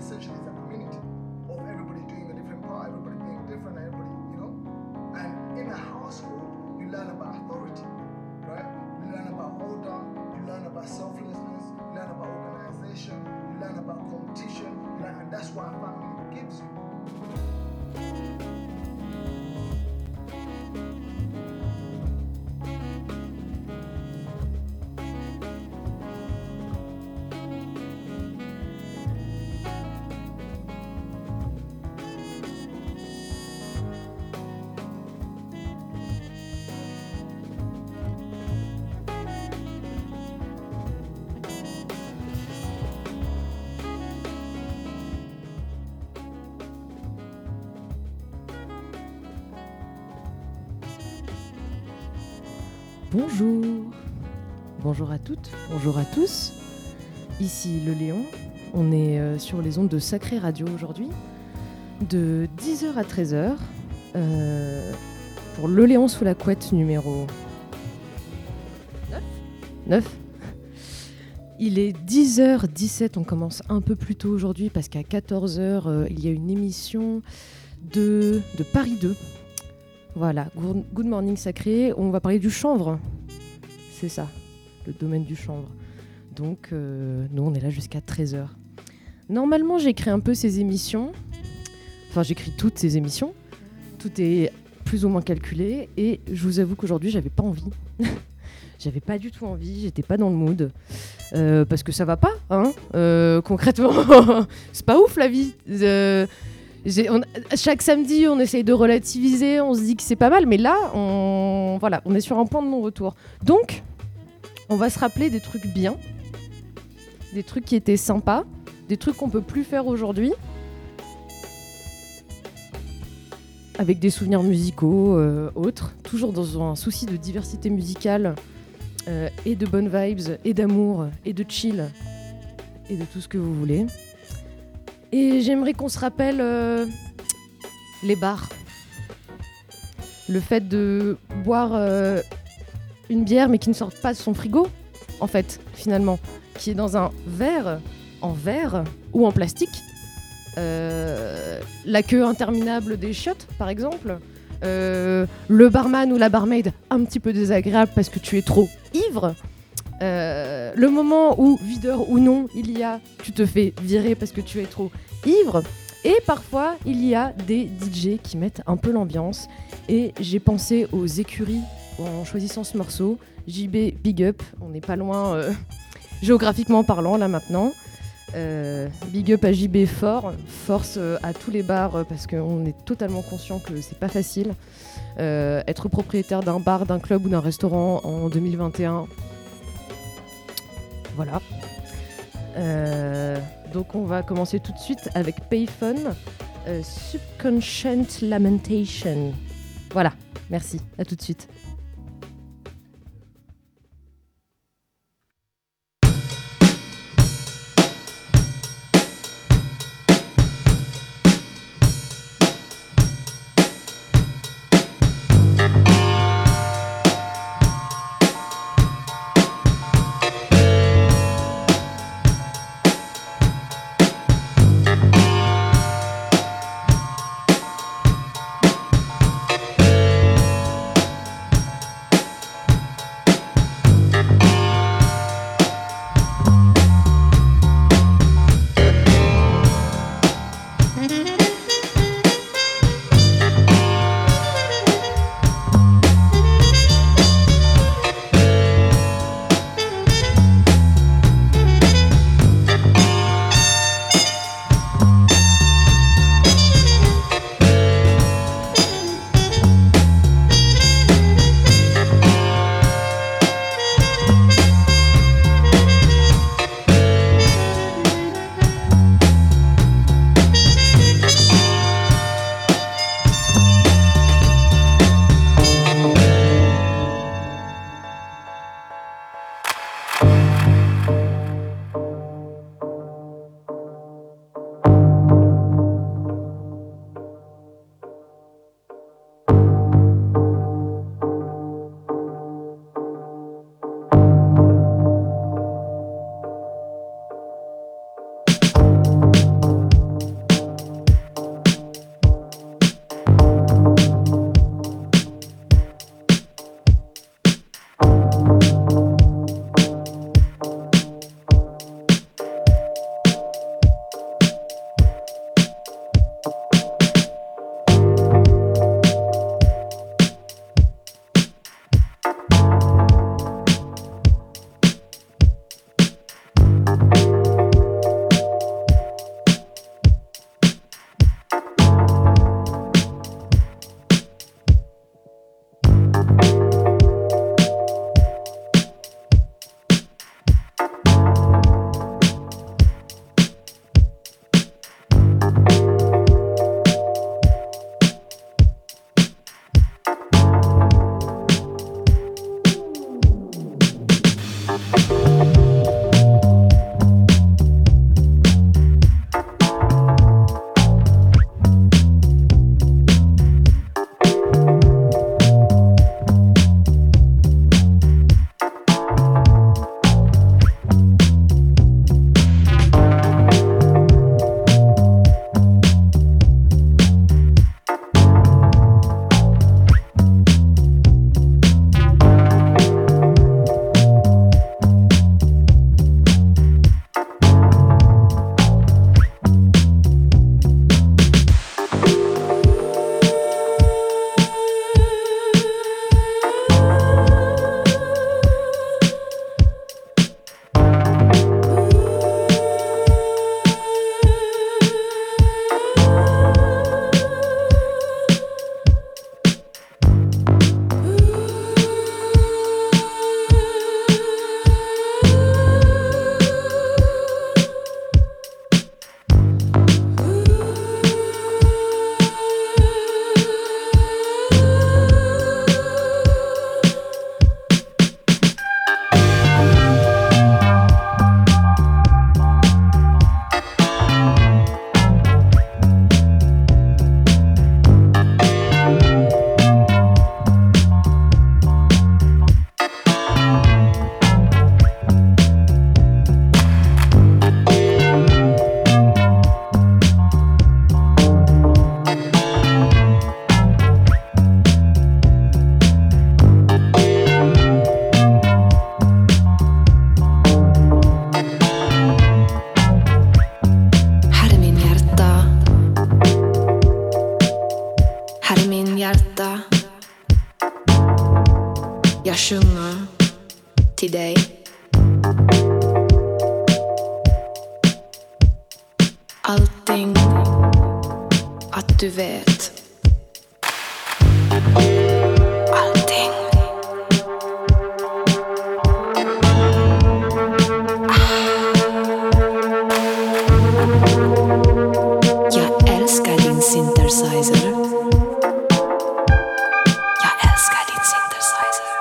essentially is a community of everybody doing a different part, everybody being different, everybody, And in a household, you learn about authority, right? You learn about order, you learn about selflessness, you learn about organization, you learn about competition, and that's what a family gives you. Bonjour à toutes, bonjour à tous. Ici le Léon, on est sur les ondes de Sacré Radio aujourd'hui, de 10h à 13h, pour le Léon sous la couette numéro 9. Il est 10h17, on commence un peu plus tôt aujourd'hui parce qu'à 14h, il y a une émission de Paris 2. Voilà, Good Morning Sacré, on va parler du chanvre, c'est ça, le domaine du chanvre. Donc, nous, on est là jusqu'à 13h. Normalement, j'écris un peu ces émissions, enfin, j'écris toutes ces émissions, tout est plus ou moins calculé, et je vous avoue qu'aujourd'hui, j'avais pas envie. J'avais pas du tout envie, j'étais pas dans le mood, parce que ça va pas, hein, concrètement, c'est pas ouf la vie. Chaque samedi, on essaye de relativiser, on se dit que c'est pas mal, mais là, on est sur un point de non-retour. Donc, on va se rappeler des trucs bien, des trucs qui étaient sympas, des trucs qu'on peut plus faire aujourd'hui, avec des souvenirs musicaux autres, toujours dans un souci de diversité musicale, et de bonnes vibes, et d'amour, et de chill, et de tout ce que vous voulez. Et j'aimerais qu'on se rappelle les bars. Le fait de boire une bière mais qui ne sort pas de son frigo, en fait, finalement. Qui est dans un verre, en verre ou en plastique. La queue interminable des chiottes, par exemple. Le barman ou la barmaid un petit peu désagréable parce que tu es trop ivre. Le moment où, videur ou non, tu te fais virer parce que tu es trop ivre. Et parfois, il y a des DJ qui mettent un peu l'ambiance. Et j'ai pensé aux écuries en choisissant ce morceau. JB, big up. On n'est pas loin géographiquement parlant, là, maintenant. Big up à JB fort. Force à tous les bars parce qu'on est totalement conscient que c'est pas facile. Être propriétaire d'un bar, d'un club ou d'un restaurant en 2021... Voilà. Donc on va commencer tout de suite avec Payphone, Subconscient Lamentation. Voilà, merci, à tout de suite. sjunger till dig. Allting att du vet. Allting. Jag älskar din synthesizer. Jag älskar din synthesizer.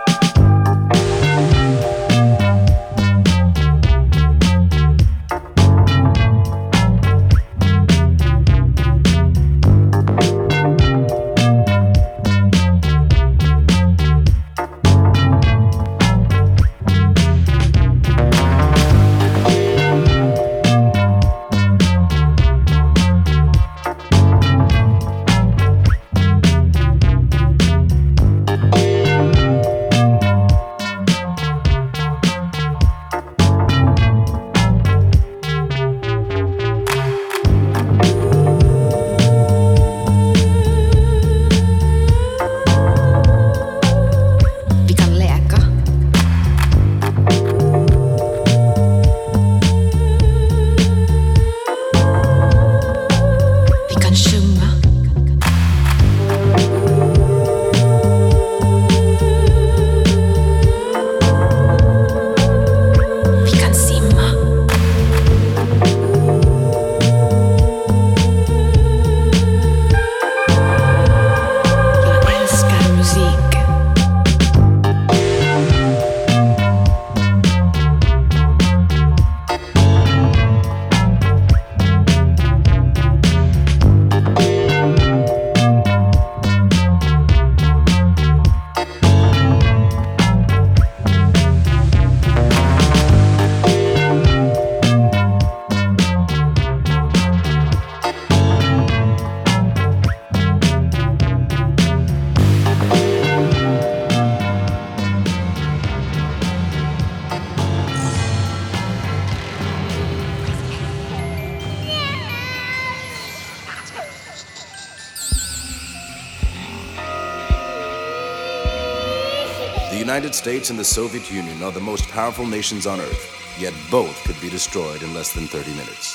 The United States and the Soviet Union are the most powerful nations on Earth, yet both could be destroyed in less than 30 minutes.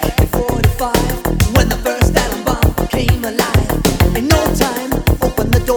When the first atom bomb came alive, in no time, open the door.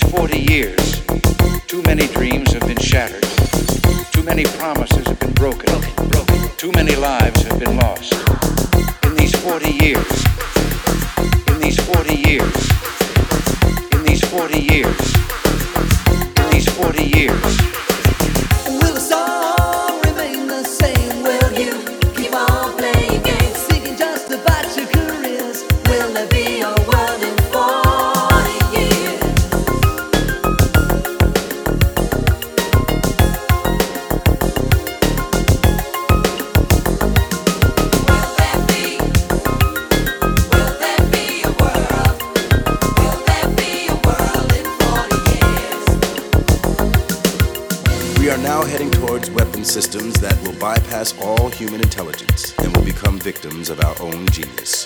40 years, too many dreams have been shattered. Too many promises have been broken. Too many lives have been lost. In these 40 years, in these 40 years, in these 40 years, in these 40 years. Will the song remain the same? Will you keep on playing games, singing just about your careers? Will there be a world in 40 years? Will there be a world? Will there be a world in 40 years? We are now heading towards weapon systems that will bypass all human intelligence and will become victims of our own genius.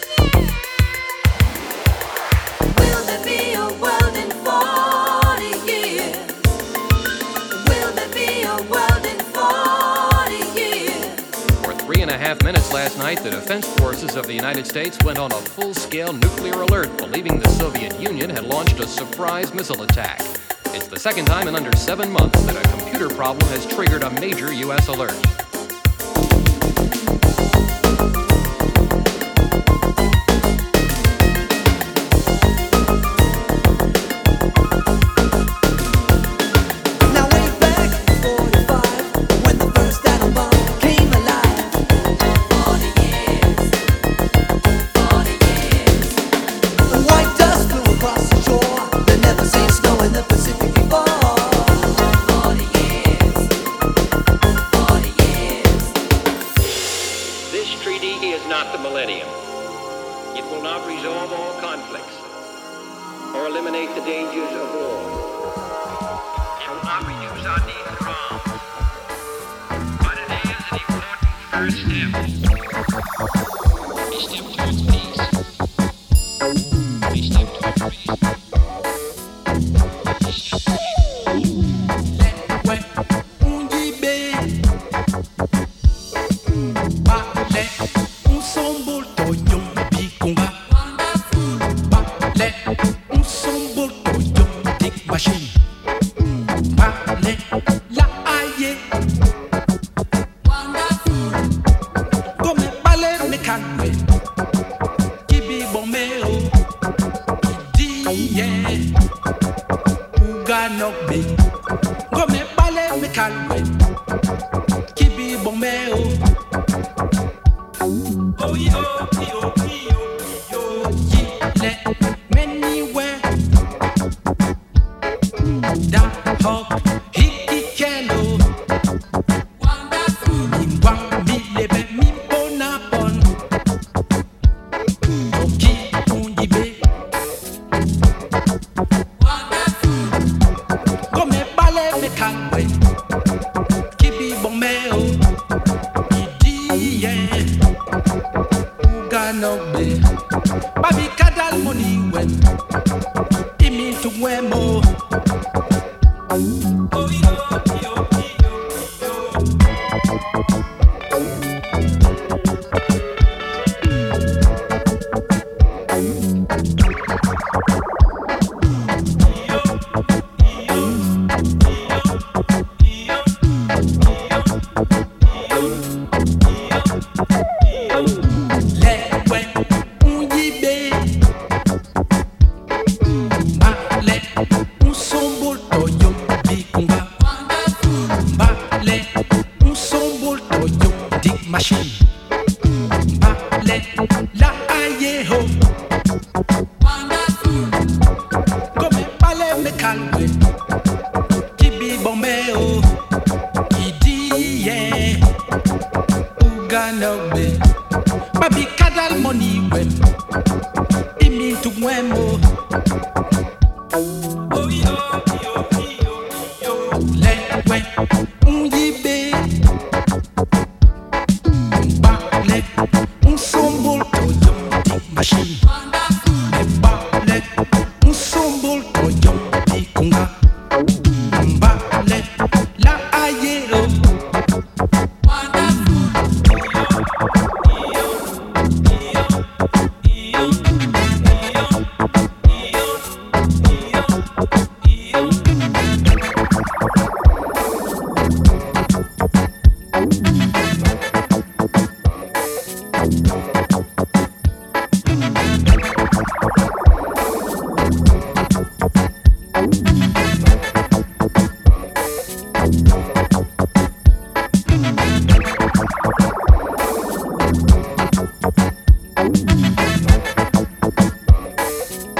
Will there be a world in 40 years? Will there be a world in 40 years? For 3.5 minutes last night, the defense forces of the United States went on a full-scale nuclear alert, believing the Soviet Union had launched a surprise missile attack. It's the second time in under 7 months that a computer problem has triggered a major U.S. alert. Now way back in 45, when the first atom bomb came alive. 40 years, 40 years. White dust flew across the shore. There never seen snow in the Pacific before. 40 years, 40 years. This treaty is not the millennium. It will not resolve all conflicts or eliminate the dangers of war. It will not reduce our need for arms. But it is an important first step. A step towards peace. A step towards peace.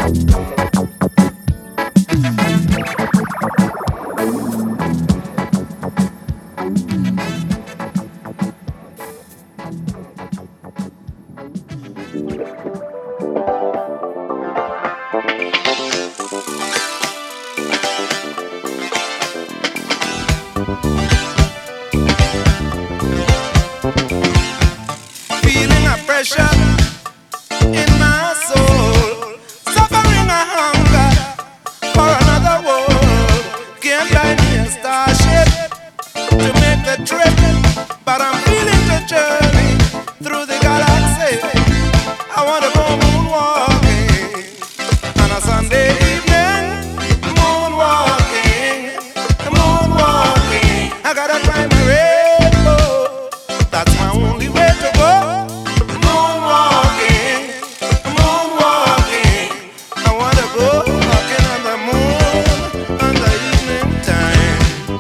Feeling a pressure in my soul, suffering a hunger for another world. Can't buy me a starship to make the trip, but I'm feeling the journey through the galaxy. I wanna go moonwalking on a Sunday evening. Moonwalking, moonwalking. I gotta climb a rainbow. That's my only way to go. Moonwalking, moonwalking. I wanna go walking on the moon on the evening time.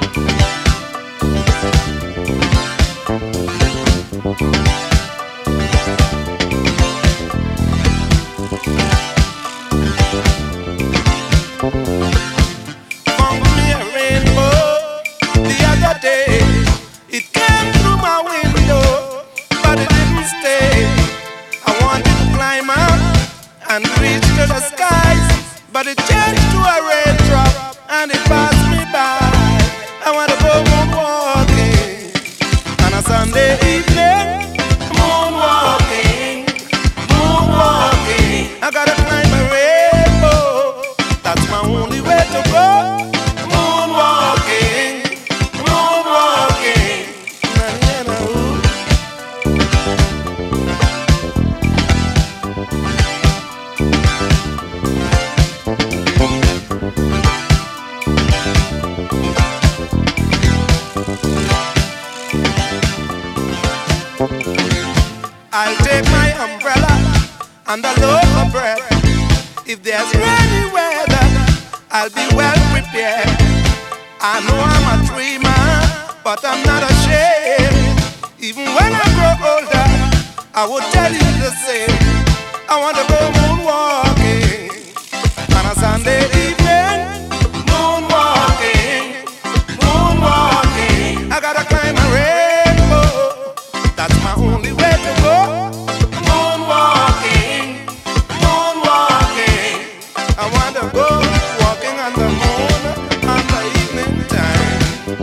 Found me a rainbow the other day. It came through my window, but it didn't stay. I wanted to climb up and reach to the skies, but it changed to a raindrop and it passed me by. I wanna go moonwalking on a Sunday evening. Moonwalking, moonwalking. I gotta climb a rainbow. That's my only way to go. Moonwalking, moonwalking. Na-na-na, ooh. I'll take my umbrella and a loaf of bread. If there's rainy weather, I'll be well prepared. I know I'm a dreamer, but I'm not ashamed. Even when I grow older, I will tell you the same. I want to go moonwalking on a Sunday evening. Moonwalking, moonwalking. I gotta climb a rainbow. That's my only way to go. Moonwalking, moonwalking. I want to go walking on the moon on the evening time.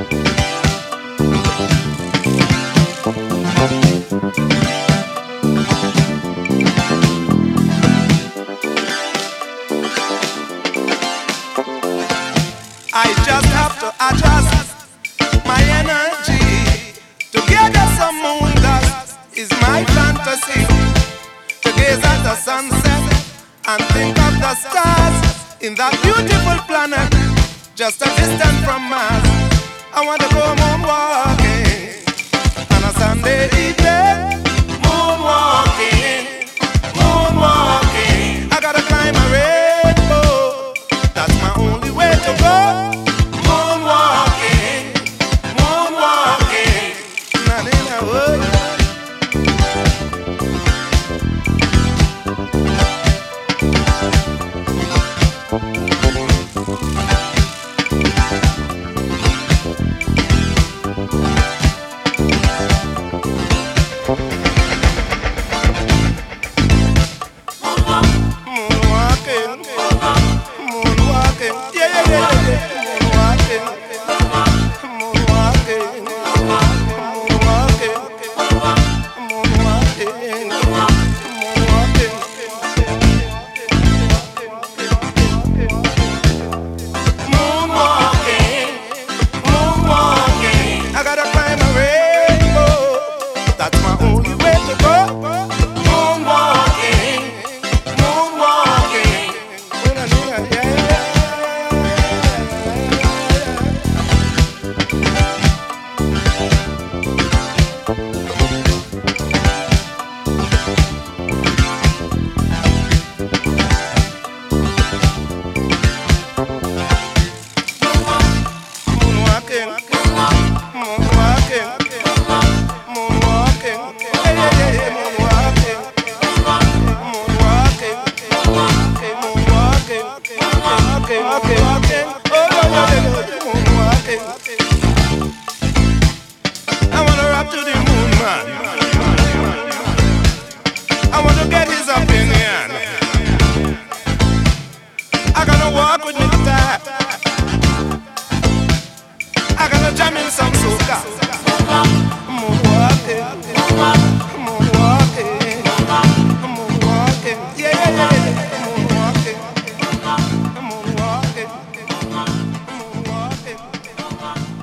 I just have to adjust my energy. To gather some moon dust is my fantasy. To gaze at the sunset and think of the stars in that beautiful planet just a distance from Mars. I want to go moonwalking on a Sunday evening. Moonwalking, moonwalking. I gotta climb a rainbow. That's my only way to go. Moonwalking, moonwalking. Na-na-na, oh. moonwalking, moonwalking. Oh, moonwalking. I wanna rock to the moon, man. I wanna get his opinion. I gotta walk with me tight. I gotta jam in some soca. Moonwalking, moonwalking, moonwalking. Yeah, yeah, yeah. Moonwalking, moonwalking, moonwalking.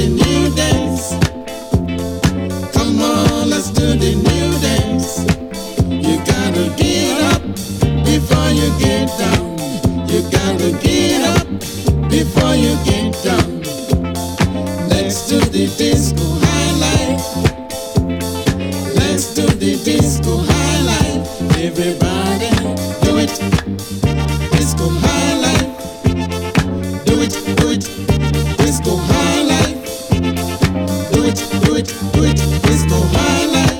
the new dance. Come on, let's do the new dance. You gotta get up before you get down. You gotta get up before you get down. Let's do the disco highlight. Let's do the disco highlight. Everybody, do it. Disco highlight. Do it, do it. Disco highlight. Do it, do it, do it. Disco highlight.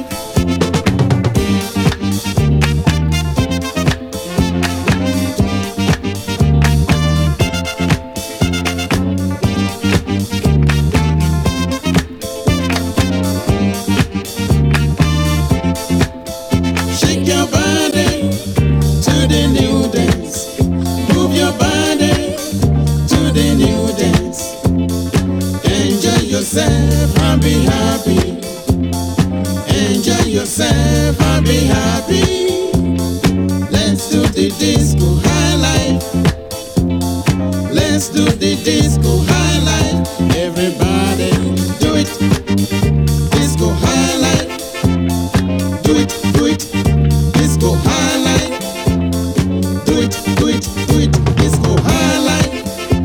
Shake your body to the new dance. Move your body to the new dance. Enjoy yourself and be happy. Enjoy yourself and be happy. Let's do the disco highlight. Let's do the disco highlight. Everybody do it. Disco highlight. Do it, do it. Disco highlight. Do it, do it, do it. Disco highlight.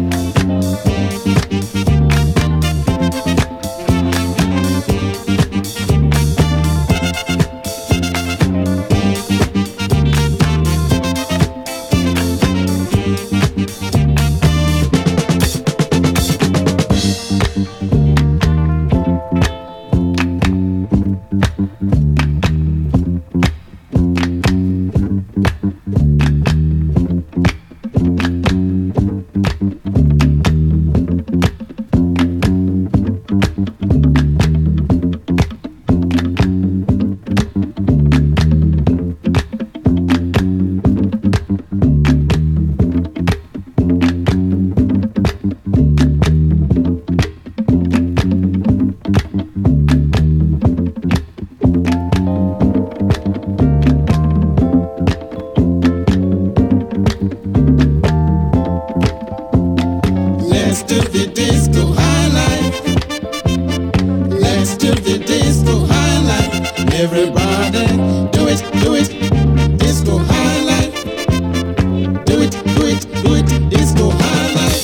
Let's do the disco highlight. Let's do the disco highlight. Everybody, do it, do it. Disco highlight. Do it, do it, do it. Disco highlight.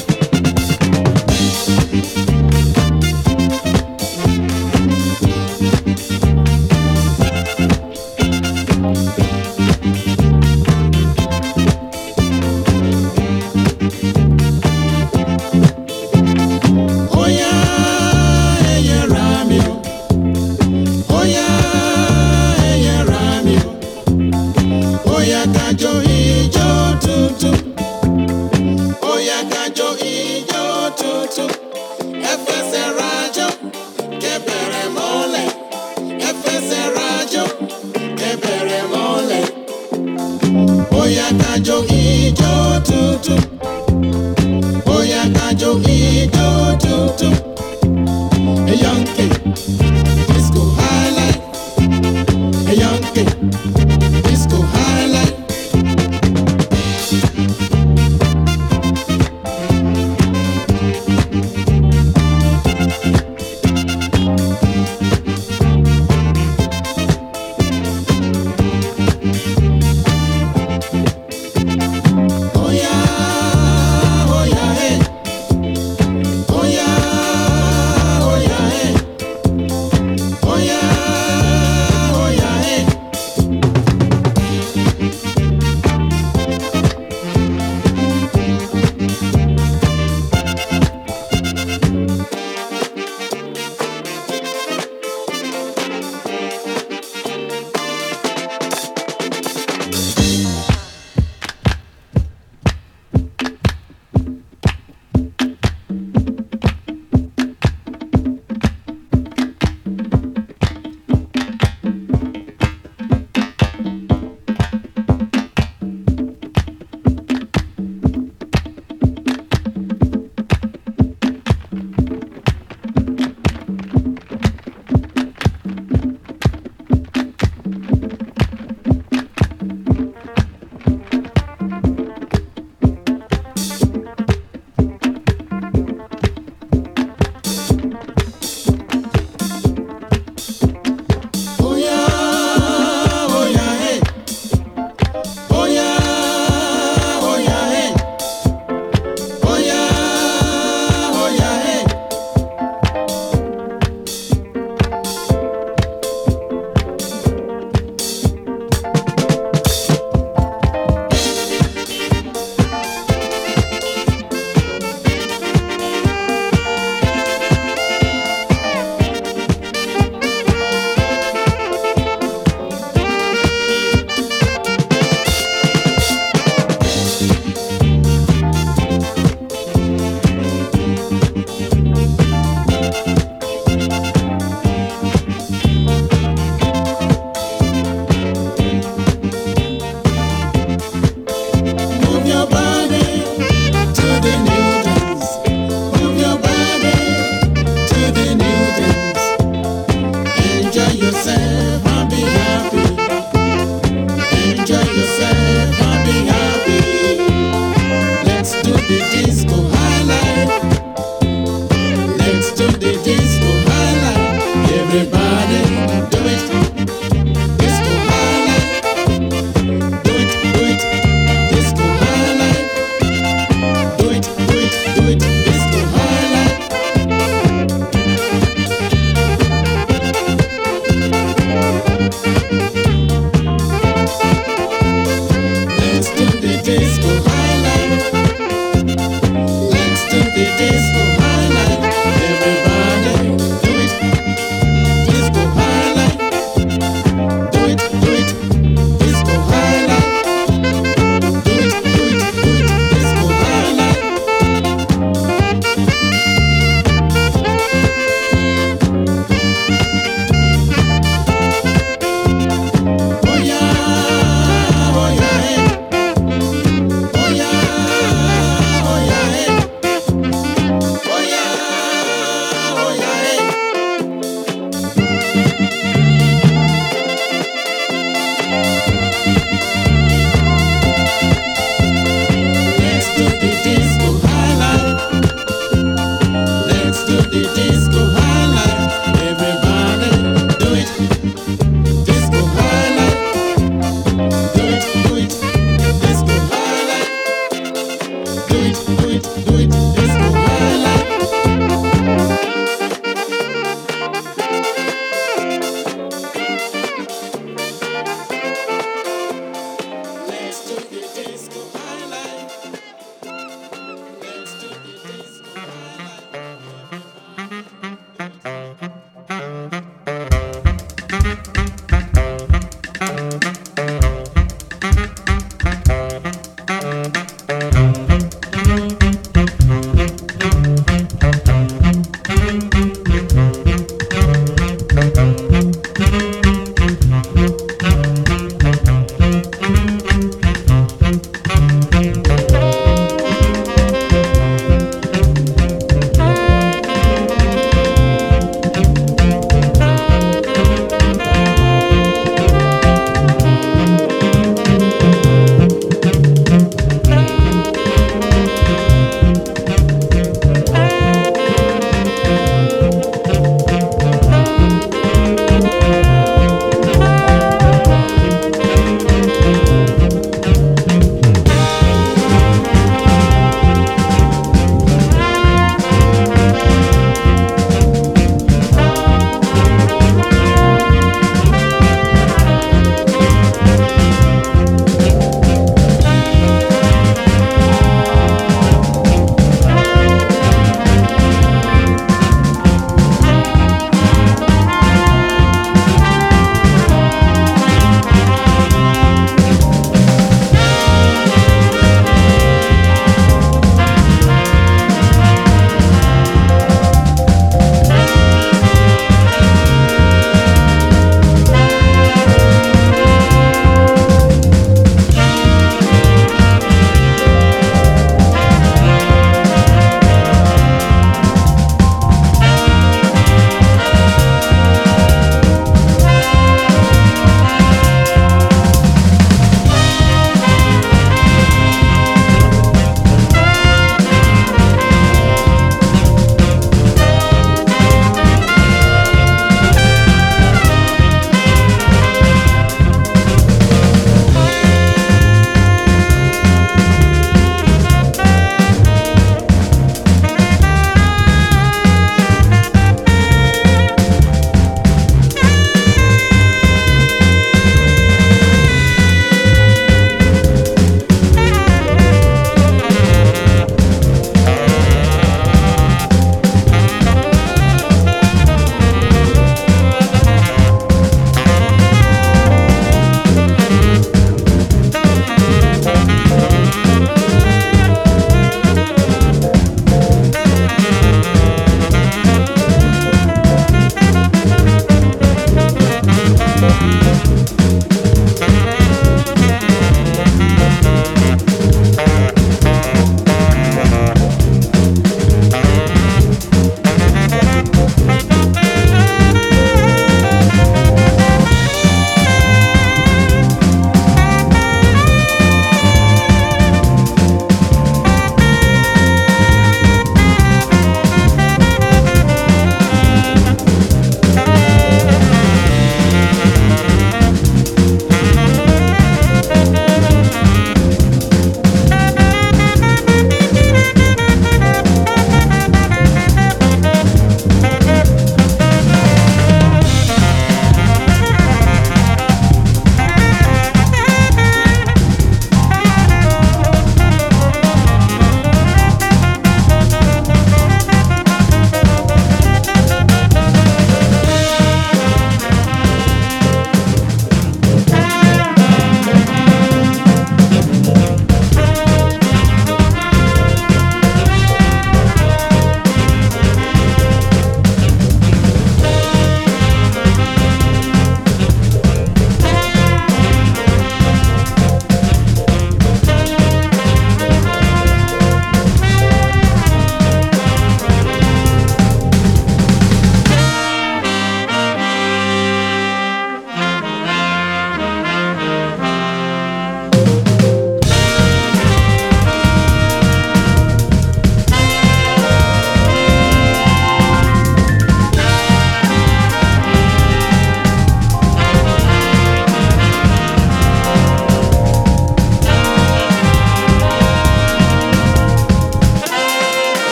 Oh yeah, hey, yeah, Ramio. Oh yeah, hey, yeah, Ramio. Oh yeah, kajo ijo tutu. Oh yeah, kajo ijo tutu. Efese rajo, kebere mole. Efese rajo, kebere mole. Oh yeah, kajo ijo tutu. Oh yeah, kajo ijo tutu. A young kid, disco highlight. A young kid, disco highlight. Oh yeah, hey. Oh yeah, hey.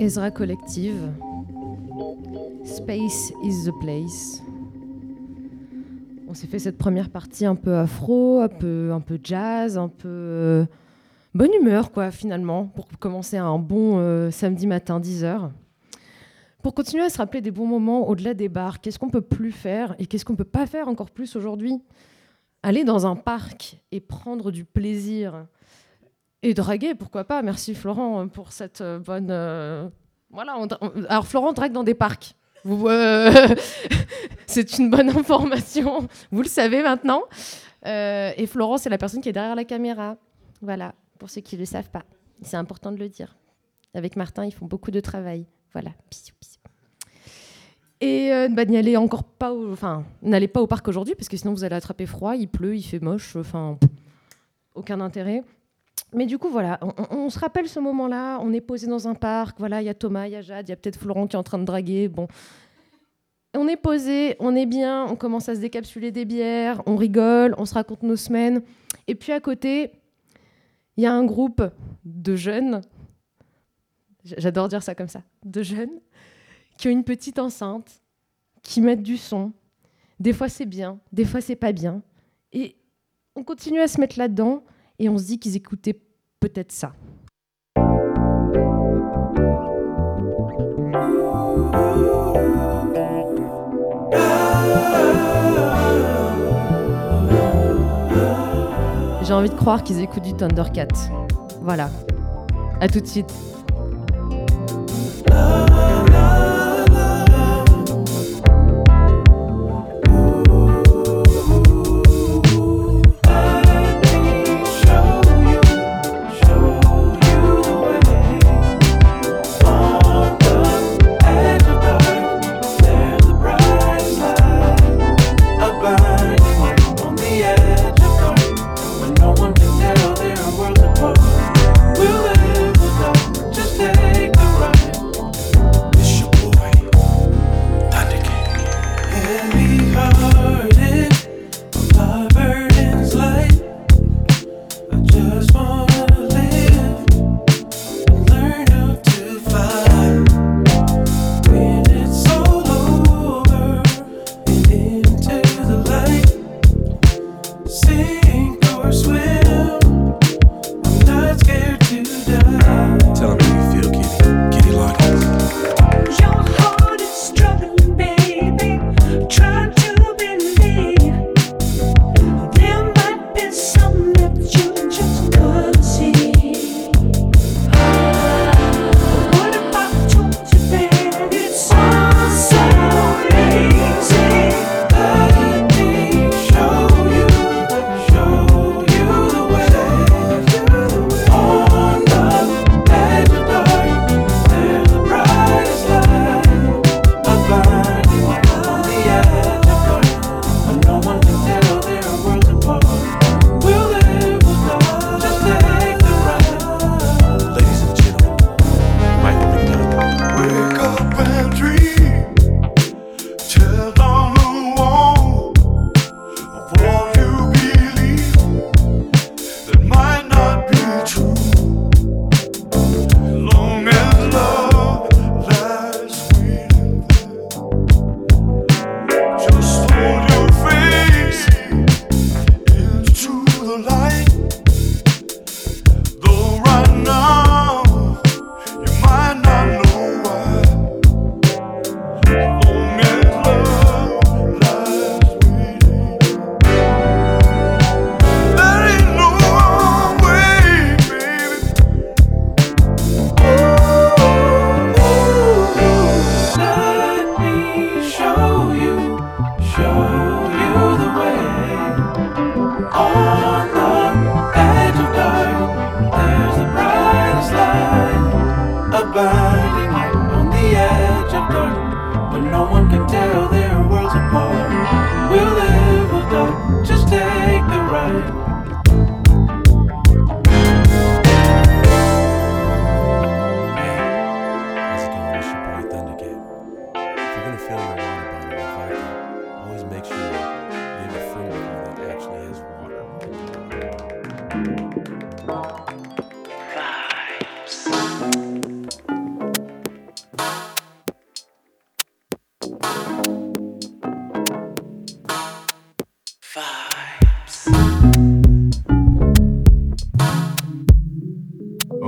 Ezra Collective. Space is the place. On s'est fait cette première partie un peu afro, un peu jazz, un peu bonne humeur quoi finalement pour commencer un bon samedi matin 10h. Pour continuer à se rappeler des bons moments au-delà des bars, qu'est-ce qu'on peut plus faire et qu'est-ce qu'on peut pas faire encore plus aujourd'hui ? Aller dans un parc et prendre du plaisir et draguer, pourquoi pas ? Merci Florent pour cette bonne... Voilà, alors Florent drague dans des parcs. C'est une bonne information, vous le savez maintenant. Et Florent, c'est la personne qui est derrière la caméra. Voilà, pour ceux qui ne le savent pas. C'est important de le dire. Avec Martin, ils font beaucoup de travail. Voilà, bisous, bisous. Et n'y allez encore pas, n'allez pas au parc aujourd'hui parce que sinon vous allez attraper froid, il pleut, il fait moche, aucun intérêt. Mais du coup, voilà, on se rappelle ce moment-là, on est posé dans un parc, voilà, il y a Thomas, il y a Jade, il y a peut-être Florent qui est en train de draguer, bon. On est posé, on est bien, on commence à se décapsuler des bières, on rigole, on se raconte nos semaines. Et puis à côté, il y a un groupe de jeunes, j'adore dire ça comme ça, de jeunes, qui ont une petite enceinte, qui mettent du son. Des fois c'est bien, des fois c'est pas bien. Et on continue à se mettre là-dedans et on se dit qu'ils écoutaient peut-être ça. J'ai envie de croire qu'ils écoutent du Thundercat. Voilà. À tout de suite.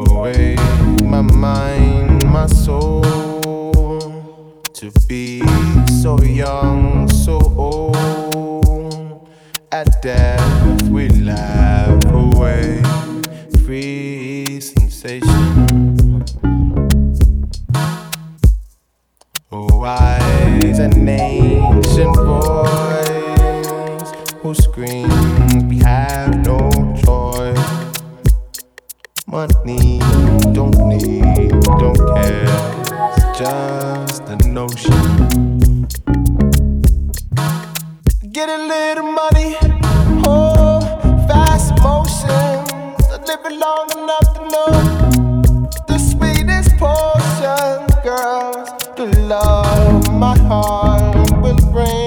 away my mind, my soul, to be so young, so old. At death we laugh away, free sensation. Wise and ancient voice who screams we have no choice. Money, don't need, don't care, it's just a notion. Get a little money, oh, fast motion. I live it long enough to know the sweetest portion, girls, the love my heart will bring.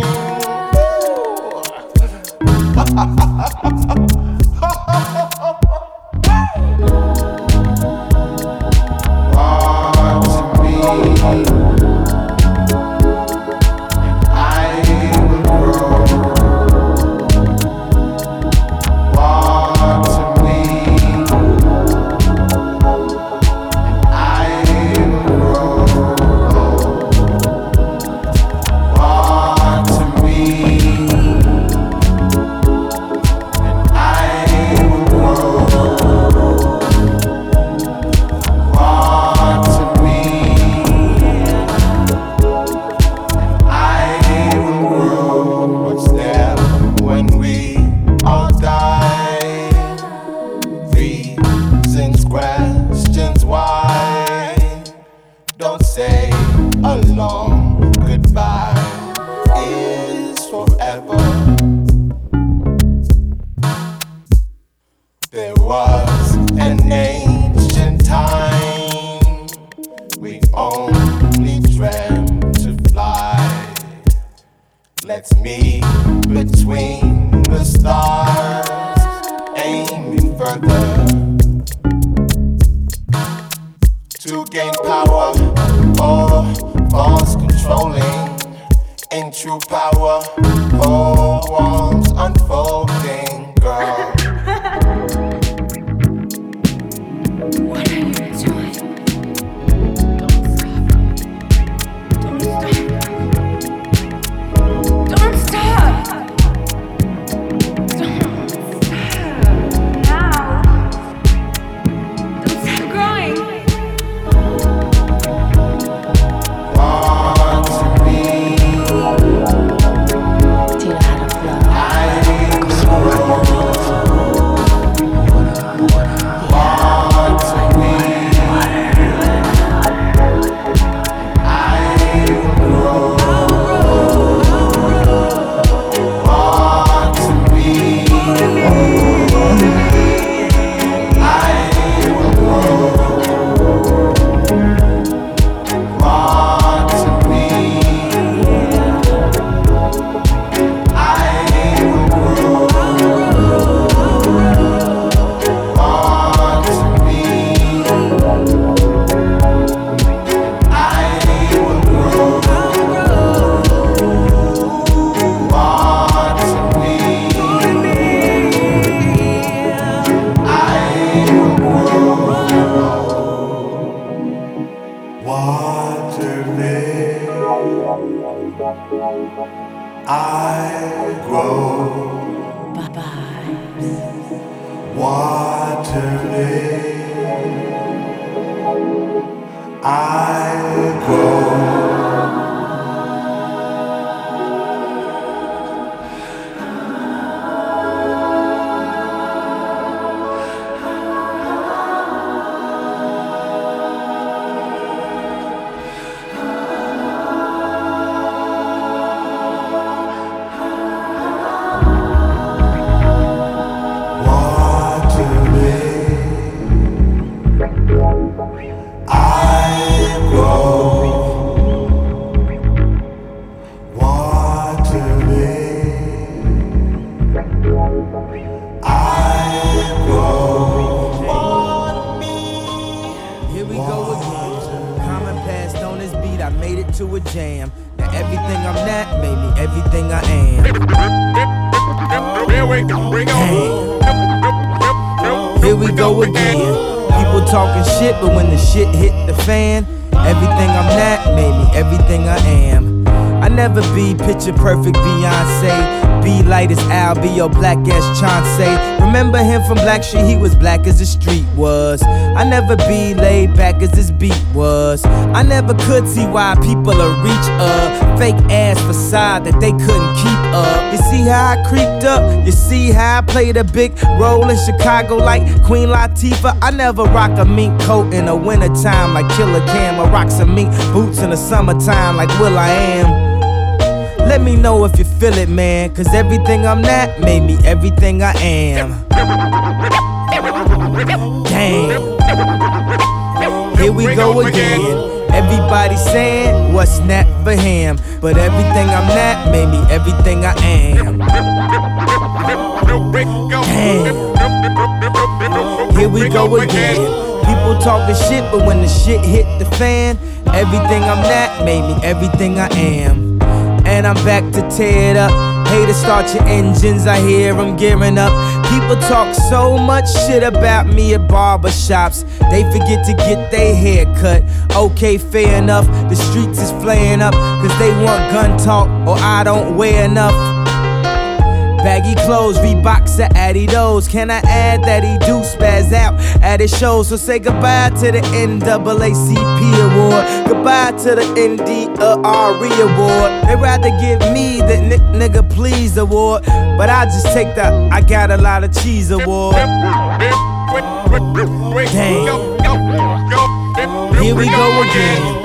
Here we go again. People People talking shit, but when the shit hit the fan, everything I'm not made me everything I am. I never be picture perfect Beyonce. Be light as Al, be your black as Chauncey. Remember him from Black Street, he was black as the street was. I never be laid back as this beat was. I never could see why people are reach a fake ass facade that they couldn't keep up. You see how I creeped up? You see how I played a big role in Chicago like Queen Latifah? I never rock a mink coat in the wintertime like Killer Cam. I rock some mink boots in the summertime like Will I Am. Let me know if you feel it, man, cause everything I'm not made me everything I am. Damn. Here we go again. Everybody saying what's not for him, but everything I'm not made me everything I am. Damn. Here we go again. People talking shit, but when the shit hit the fan, everything I'm not made me everything I am. And I'm back to tear it up. Hey, to start your engines, I hear them gearing up. People talk so much shit about me at barbershops. They forget to get their hair cut. Okay, fair enough. The streets is flaring up, cause they want gun talk, or I don't wear enough. Baggy clothes, Reeboks or Adidas. Can I add that he do spaz out at his shows? So say goodbye to the NAACP award, goodbye to the NDRE award. They rather give me the nigga please award, but I just take the I got a lot of cheese award. Damn. Here we go again.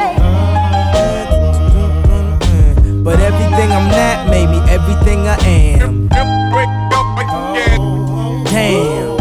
But everything I'm not made me everything I am. Damn.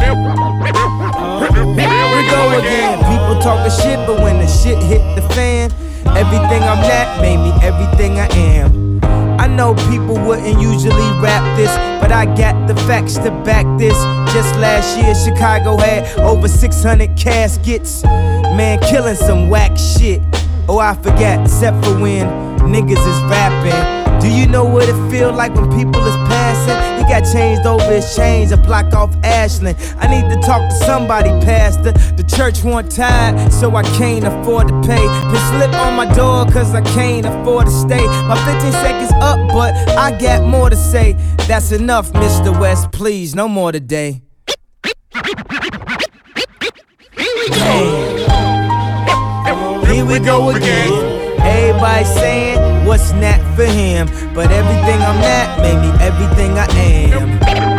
Here we go again. People talking shit, but when the shit hit the fan, everything I'm not made me everything I am. I know people wouldn't usually rap this, but I got the facts to back this. Just last year, Chicago had over 600 caskets. Man, killing some whack shit. Oh, I forgot, except for when niggas is rapping. Do you know what it feel like when people is passing? He got changed over his chains, a block off Ashland. I need to talk to somebody, pastor. The church want tired, so I can't afford to pay. Put slip on my door, cause I can't afford to stay. My 15 seconds up, but I got more to say. That's enough, Mr. West, please, no more today. Damn. Here we go again. Everybody saying what's not for him, but everything I'm not made me everything I am.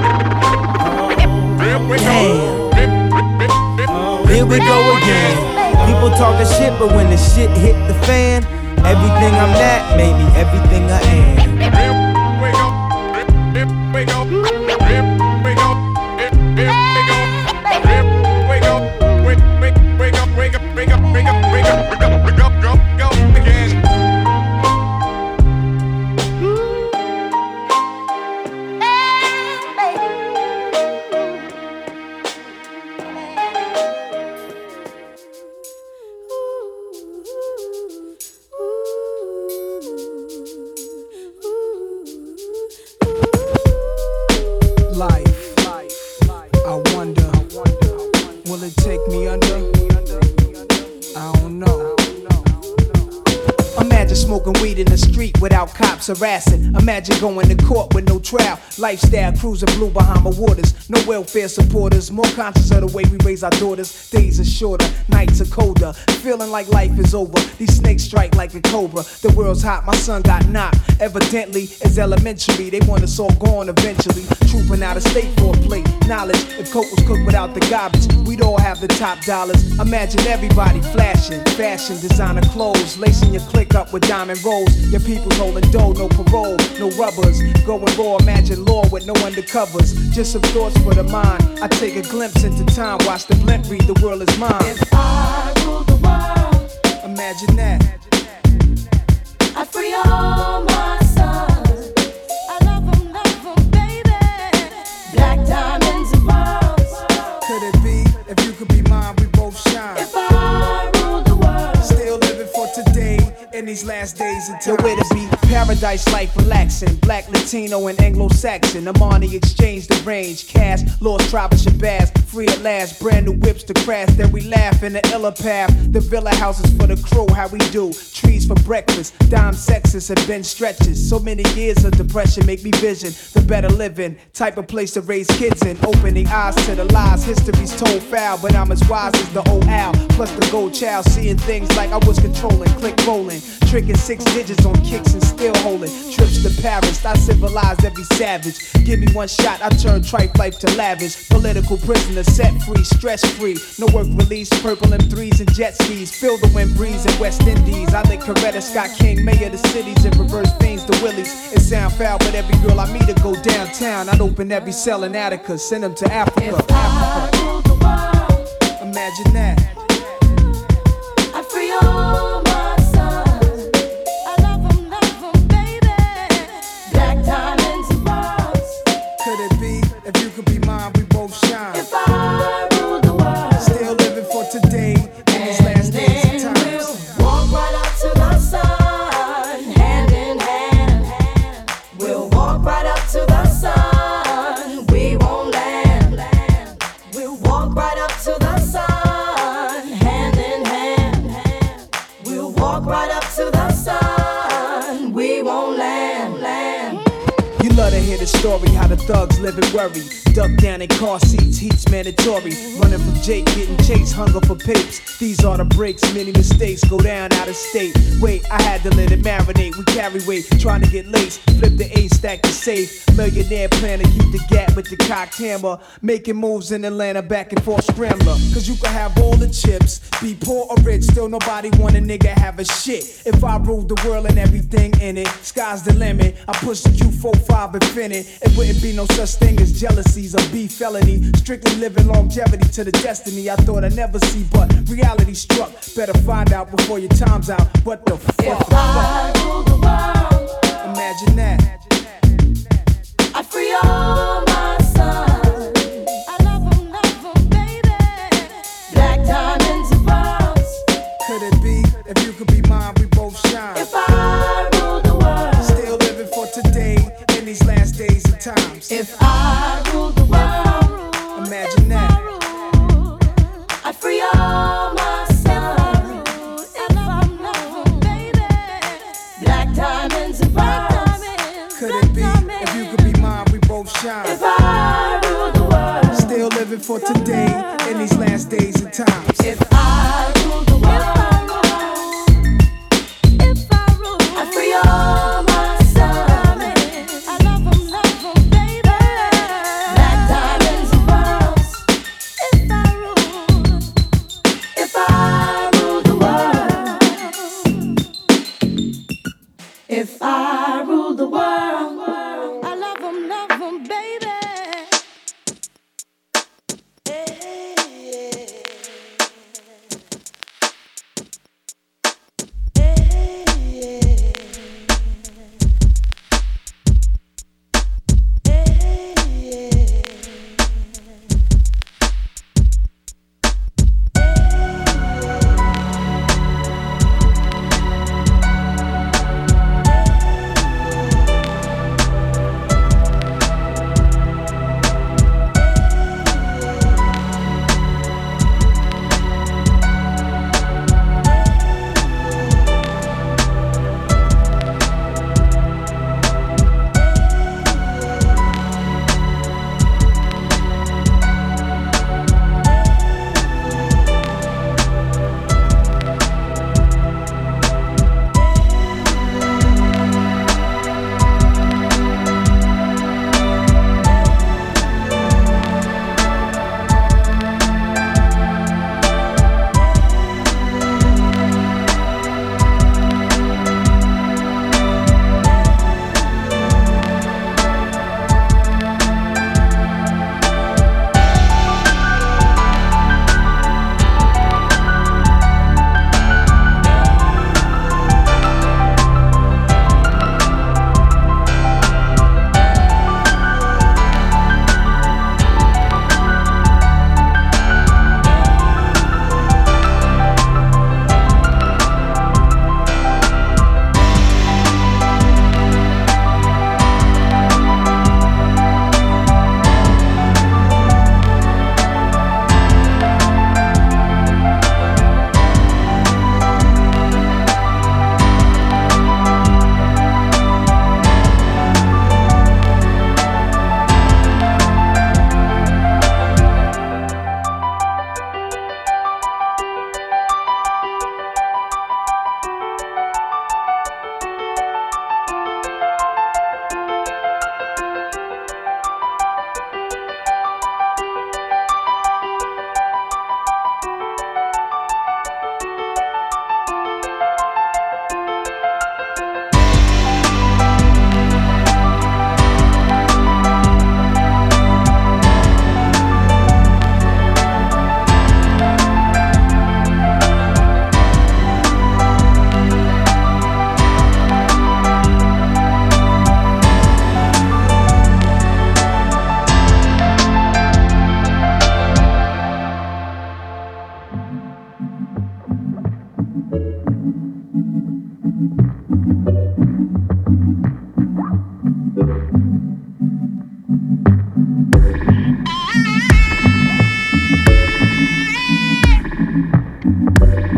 Damn. Here we go again. People talking shit, but when the shit hit the fan, everything I'm not made me everything I am. Harassing. Imagine going to court with no trial. Lifestyle cruising blue Bahama waters. No welfare supporters. More conscious of the way we raise our daughters. Days are shorter, nights are colder. Feeling like life is over. These snakes strike like a cobra. The world's hot, my son got knocked. Evidently, it's elementary. They want us all gone eventually. Trooping out of state for a plate. Knowledge, if coke was cooked without the garbage, we'd all have the top dollars. Imagine everybody flashing. Fashion, designer clothes. Lacing your click up with diamond rolls. Your people's holding dough. No parole, no rubbers. Going raw, imagine law with no undercovers. Just some thoughts for the mind. I take a glimpse into time, watch the blimp read, the world is mine. If I rule the world, imagine that. I'd free all my sons. I love them, baby. Black diamonds and pearls. Could it be, if you could be mine, we both shine. If I rule the world, still living for today. in these last days and times. Nowhere to be, paradise life relaxing. Black, Latino, and Anglo-Saxon. I'm on the exchange, the range. Cash, lost tribe of Shabazz. Free at last, brand new whips to crash. Then we laugh in the illa path. The villa houses for the crew, how we do. Trees for breakfast, dime sexes and bench stretches. So many years of depression make me vision the better living. Type of place to raise kids in. Opening eyes to the lies, history's told foul. But I'm as wise as the old owl. Plus the gold child, seeing things like I was controlling. Click rolling, tricking 6 digits on kicks and still holding. Trips to Paris, I civilized every savage. Give me one shot, I turn tripe life to lavish. Political prisoner, set free, stress free. No work release, purple M3s and jet skis. Feel the wind breeze in West Indies. I think Coretta Scott King, mayor of the cities, and reverse fiends to Willies. It sound foul, but every girl I meet to go downtown. I'd open every cell in Attica, send them to Africa. If I ruled the world, imagine that. I'd free all my sons. I love them, baby. Black diamonds and pearls. Could it be, if you could be mine, we both shine. If I ruled the world, still living for today, in these last days and times. we'll walk right up to the sun, hand in hand. We'll walk right up to the sun, we won't land. We'll walk right up to the sun, hand in hand. We'll walk right up to the sun, we won't land. You love to hear the story, how the thugs live and worry. Duck down in car seats, heat's mandatory. Running from Jake, getting chased, hunger for papes. These are the breaks, many mistakes go down out of state. Wait, I had to let it marinate. We carry weight, trying to get laced. Flip the A, stack the safe. Millionaire plan to keep the gap with the cocked hammer. Making moves in Atlanta, back and forth scrambler. Cause you can have all the chips, be poor or rich, still nobody want a nigga have a shit. If I ruled the world and everything in it, sky's the limit. I push the Q45 infinite. It wouldn't be no such thing as jealousy or be felony. Strictly living longevity to the destiny I thought I'd never see, but reality struck. Better find out before your time's out. What the fuck? If I ruled the world, imagine that. I'd free all my sons. I love them, baby. Black diamonds and pearls. Could it be, if you could be mine, we both shine. If I ruled the world, still living for today, in these last days and times. If I ruled the world, imagine that. I'd free all my sons. If I love them, baby. Black diamonds and pearls. Could it be, if you could be mine, we both shine.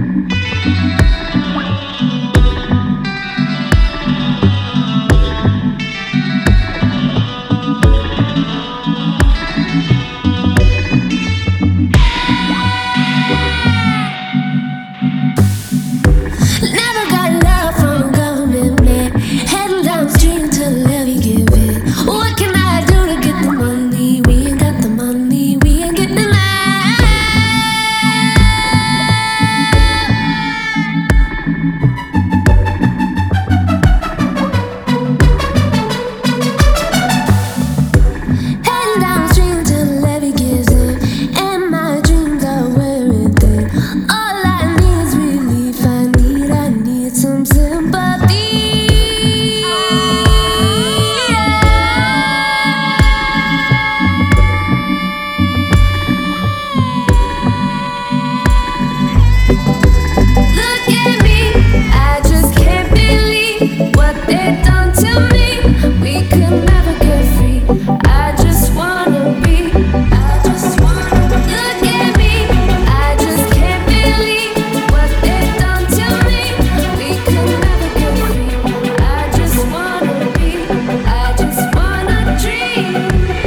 Never got love from a government man. Heading downstream to the levee give it. What can I do to get the money? We ain't got the money, we ain't getting it. Heading downstream till the levee gives in, and my dreams are wearing thin. All I need is relief. I need some sympathy. Look at me, I just can't believe what they've done to me. We could never get free. I just wanna be. I just wanna. Look at me, I just can't believe what they've done to me. We could never get free. I just wanna be. I just wanna dream.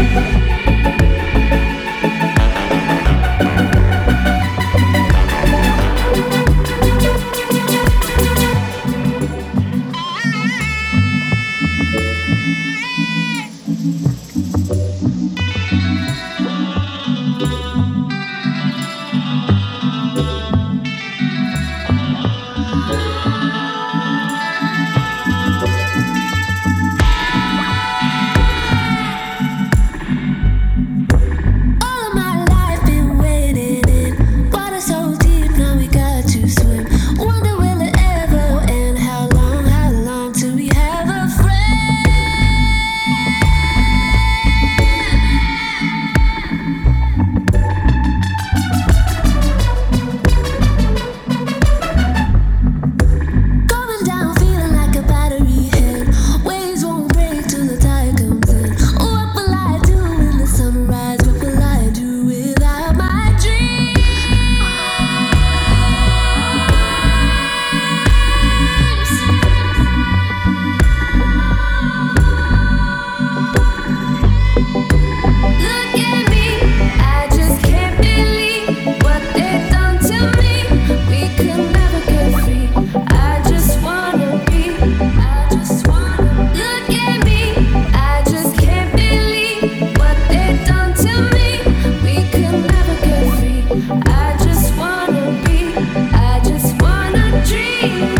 All of my life been waiting in water so deep, now we got to swim. Wonder will it ever end? How long till we have a friend? Going down, feeling like a battery head. Waves won't break till the tide comes in. What will I do when the sunrise? What will I do without my Look at me, I just can't believe what they've done to me. We could never get free. I just wanna be. I just wanna. Look at me, I just can't believe what they've done to me. We could never get free. I just wanna be. I just wanna dream.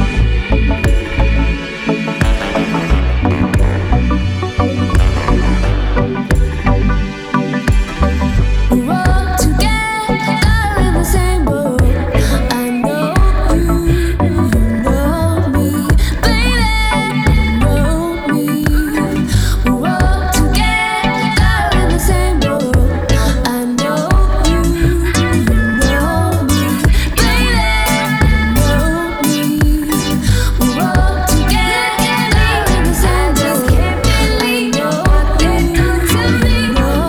We're all together in the same boat. I know you know me, baby, you know me. We're all together in the same boat. I know you know me, baby, you know me. We're all together in the same boat. I can't believe what they've done to me.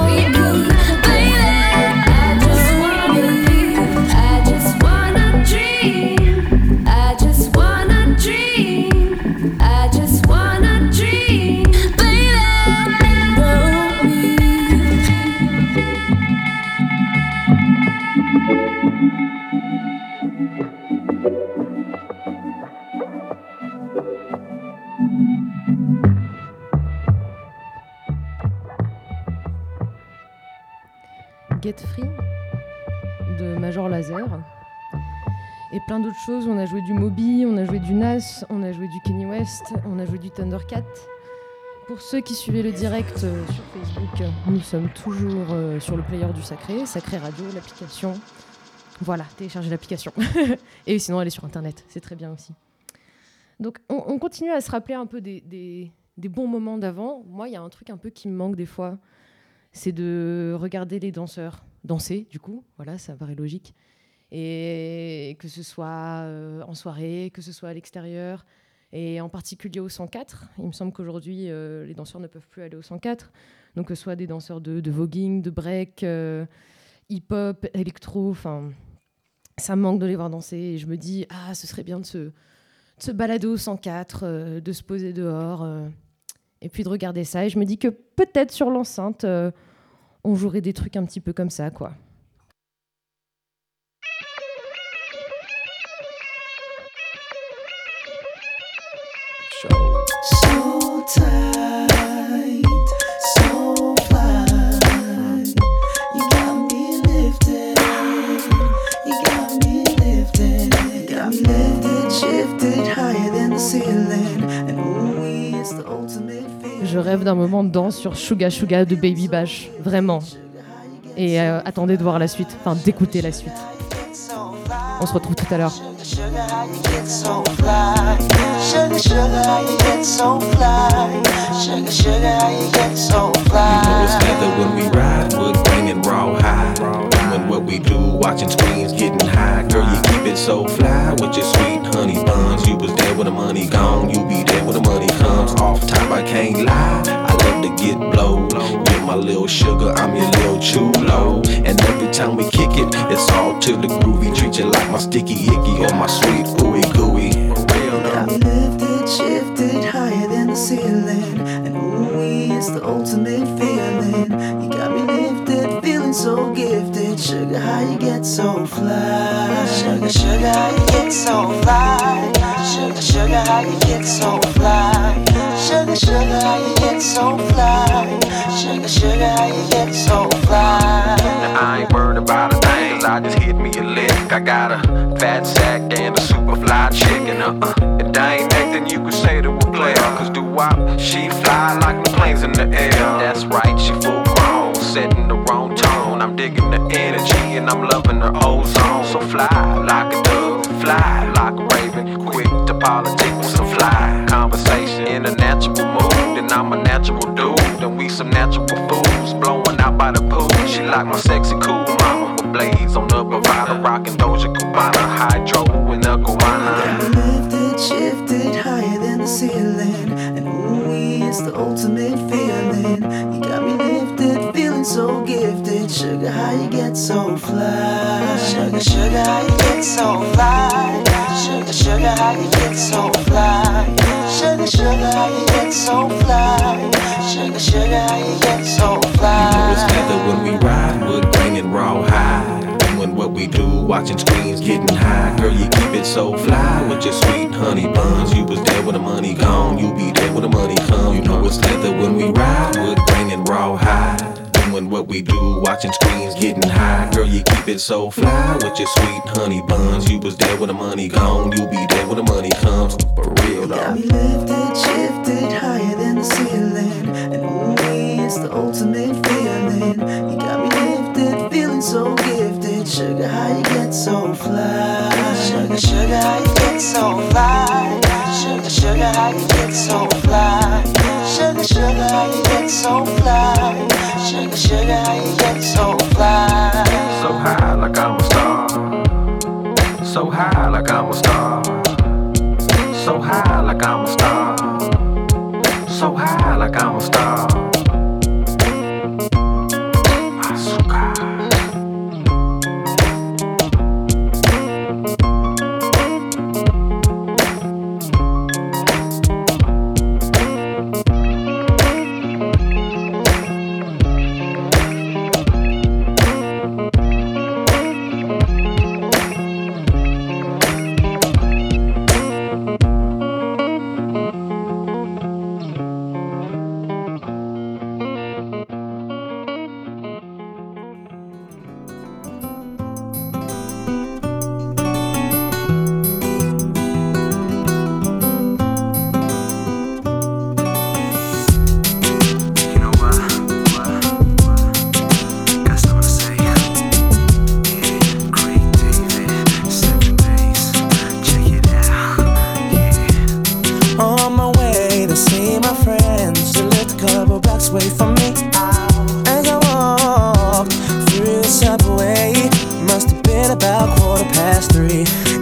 I just wanna dream. I just wanna dream. I just wanna dream. Baby, know Get Free de Major Lazer et plein d'autres choses. On a joué du Moby, on a joué du Nas, on a joué du Kanye West, on a joué du Thundercat. Pour ceux qui suivaient le direct sur Facebook, nous sommes toujours sur le player du Sacré Radio, l'application. Voilà, téléchargez l'application. Et sinon, allez sur Internet, c'est très bien aussi. Donc, on continue à se rappeler un peu des bons moments d'avant. Moi, il y a un truc un peu qui me manque des fois, c'est de regarder les danseurs danser, du coup. Voilà, ça paraît logique. Et que ce soit en soirée, que ce soit à l'extérieur, et en particulier au 104. Il me semble qu'aujourd'hui, les danseurs ne peuvent plus aller au 104. Donc, que ce soit des danseurs de voguing, de break, hip-hop, électro, enfin... Ça me manque de les voir danser. Et je me dis, ce serait bien de se balader au 104, de se poser dehors, et puis de regarder ça. Et je me dis que peut-être sur l'enceinte, on jouerait des trucs un petit peu comme ça, quoi. So tight, so fly. You got me lifted, you got me lifted, got me lifted, shifted higher than the ceiling. And ooh, it's the ultimate feeling. Je rêve d'un moment de danse sur Suga Suga de Baby Bash, vraiment. Et attendez de voir la suite, enfin d'écouter la suite. On se retrouve tout à l'heure. Sugar, how you get so fly? Sugar, sugar, how you get so fly? Sugar, sugar, how you get so fly? You know it's leather when we ride, wood grain and raw high. Doing what we do, watching screens, getting high. Girl, you keep it so fly with your sweet honey buns. You was there when the money gone, you be there when the money comes. Off top, I can't lie, I love to get blowed. You're my little sugar, I'm your little chulo. And every time we kick it, it's all to the groovy. Treat you like my sticky icky or my sweet ooey gooey. Got me lifted, shifted higher than the ceiling. And ooh, it's the ultimate feeling. You got me lifted, feeling so gifted. Sugar, how you get so fly? Sugar, sugar, how you get so fly? Sugar, sugar, how you get so fly? Sugar, sugar, how you get so fly? Sugar, sugar, how you get so fly? Now I ain't worried about a thing, I just hit me a lick. I got a fat sack and a super fly chicken. If I ain't acting, you could say to a player. Cause do-wop, she fly like the planes in the air. That's right, she full grown, setting the wrong tone. I'm digging the energy and I'm loving her ozone. So fly like a dove, fly like a raven. Quick to politic with some fly conversation. In a natural mood, and I'm a natural dude. And we some natural fools, blowing out by the pool. She like my sexy cool mama with blades on the Bravada. Rockin' Doja Cubana, hydro in the guana. Lifted, shifted higher than the ceiling. And ooh, it's the ultimate feeling. You got me lifted, feeling so gifted. Sugar, how you get so fly? Sugar, sugar, how you get so fly? Sugar, sugar, how you get so fly? Sugar, sugar, how you get so fly? Sugar, sugar, how you get so fly? You know it's leather when we ride, wood grain and raw high. Doing what we do, watching screens, getting high. Girl, you keep it so fly with your sweet honey buns. You was there when the money gone, you be there when the money come. You know it's leather when we ride, wood grain and raw high. Doing what we do, watching screens, getting high. Girl, you keep it so fly with your sweet honey buns. You was there when the money gone, you be there when the money comes. For real though. Got me lifted, shifted higher than the ceiling. And ooh, it's the ultimate feeling. You got me lifted, feeling so gifted. Sugar, how you get so fly? Sugar, sugar, how you get so fly? Sugar, sugar, how you get so fly? Sugar, sugar, how you get so fly? Sugar, sugar, how you get so fly? So high like I'm a star. So high like I'm a star. So high like I'm a star. So high like I'm a star.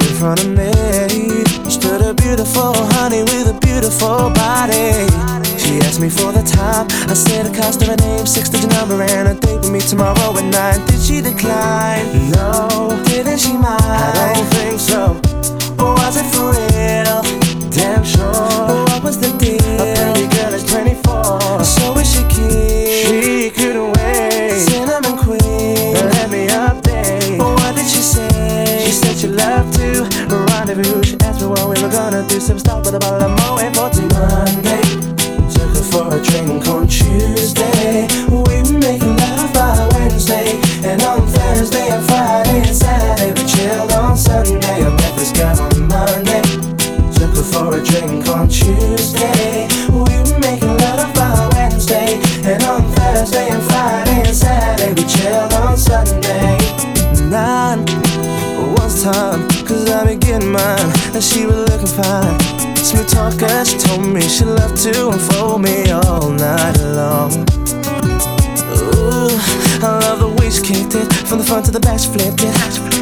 Beautiful honey with a beautiful body. She She asked me for the time. I said the cost of her name, 6-digit number, and a date with me tomorrow at 9. Did she decline? No. Didn't she mind? I don't think so. Or was it for real? Damn sure. What was the deal? A pretty girl is 24. So is she keen? She couldn't wait. Cinnamon queen, let me update. What did she say? She said she loved to rendezvous. She asked me what we were gonna do. Some stuff with a bottle of Moet for Monday. Took her for a drink on Tuesday. We were making love by Wednesday. And on Thursday and Friday and Saturday we chilled on Sunday. I met this girl on Monday. Took her for a drink on Tuesday. We were making love by Wednesday. And on Thursday and Friday and Saturday we chilled on Sunday. 9 was time, cause I been getting mine. And she was looking fine. Smooth talker, she told me she loved to unfold me all night long. Ooh, I love the way she kicked it. From the front to the back she flipped it.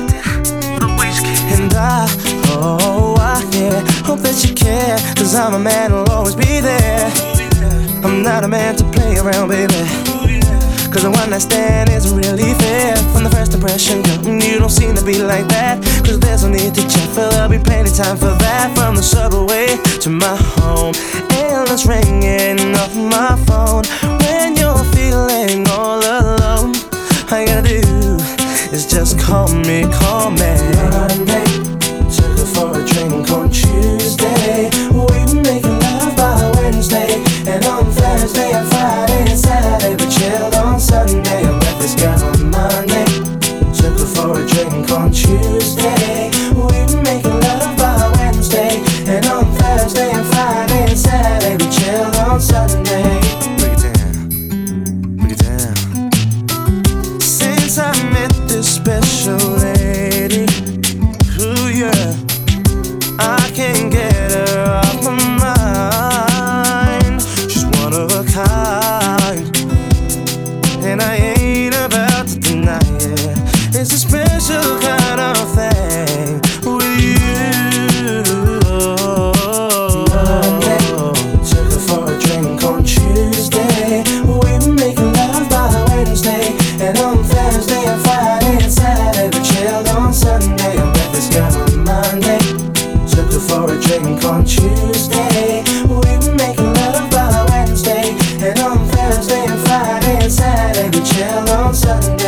And I hope that you care. Cause I'm a man who'll always be there. I'm not a man to play around, baby. Cause a one night stand isn't really fair. From the first impression, girl, you don't seem to be like that. Cause there's no need to check, for there'll be plenty time for that. From the subway to my home, endless ringing off my phone. When you're feeling all alone, all you gotta do is just call me. Monday, took her for a drink on Tuesday. We were making love by Wednesday. And on Thursday and Friday and Saturday we chilled on Sunday. I met this girl on Monday. Took her for a drink on Tuesday. We were making love by Wednesday. And on Thursday and Friday and Saturday we chilled on Sunday. Break it down. Since I met this special lady, ooh yeah, I can't get her off my mind. She's one of a kind, and I ain't about to deny it. It's a special kind of thing with you. Monday, took her for a drink on Tuesday. We were making love by Wednesday. And on Thursday and Friday and Saturday we chilled on Sunday. I met this girl on Monday. Took her for a drink on Tuesday. We were making love by Wednesday. And on Thursday and Friday and Saturday we chilled on Sunday.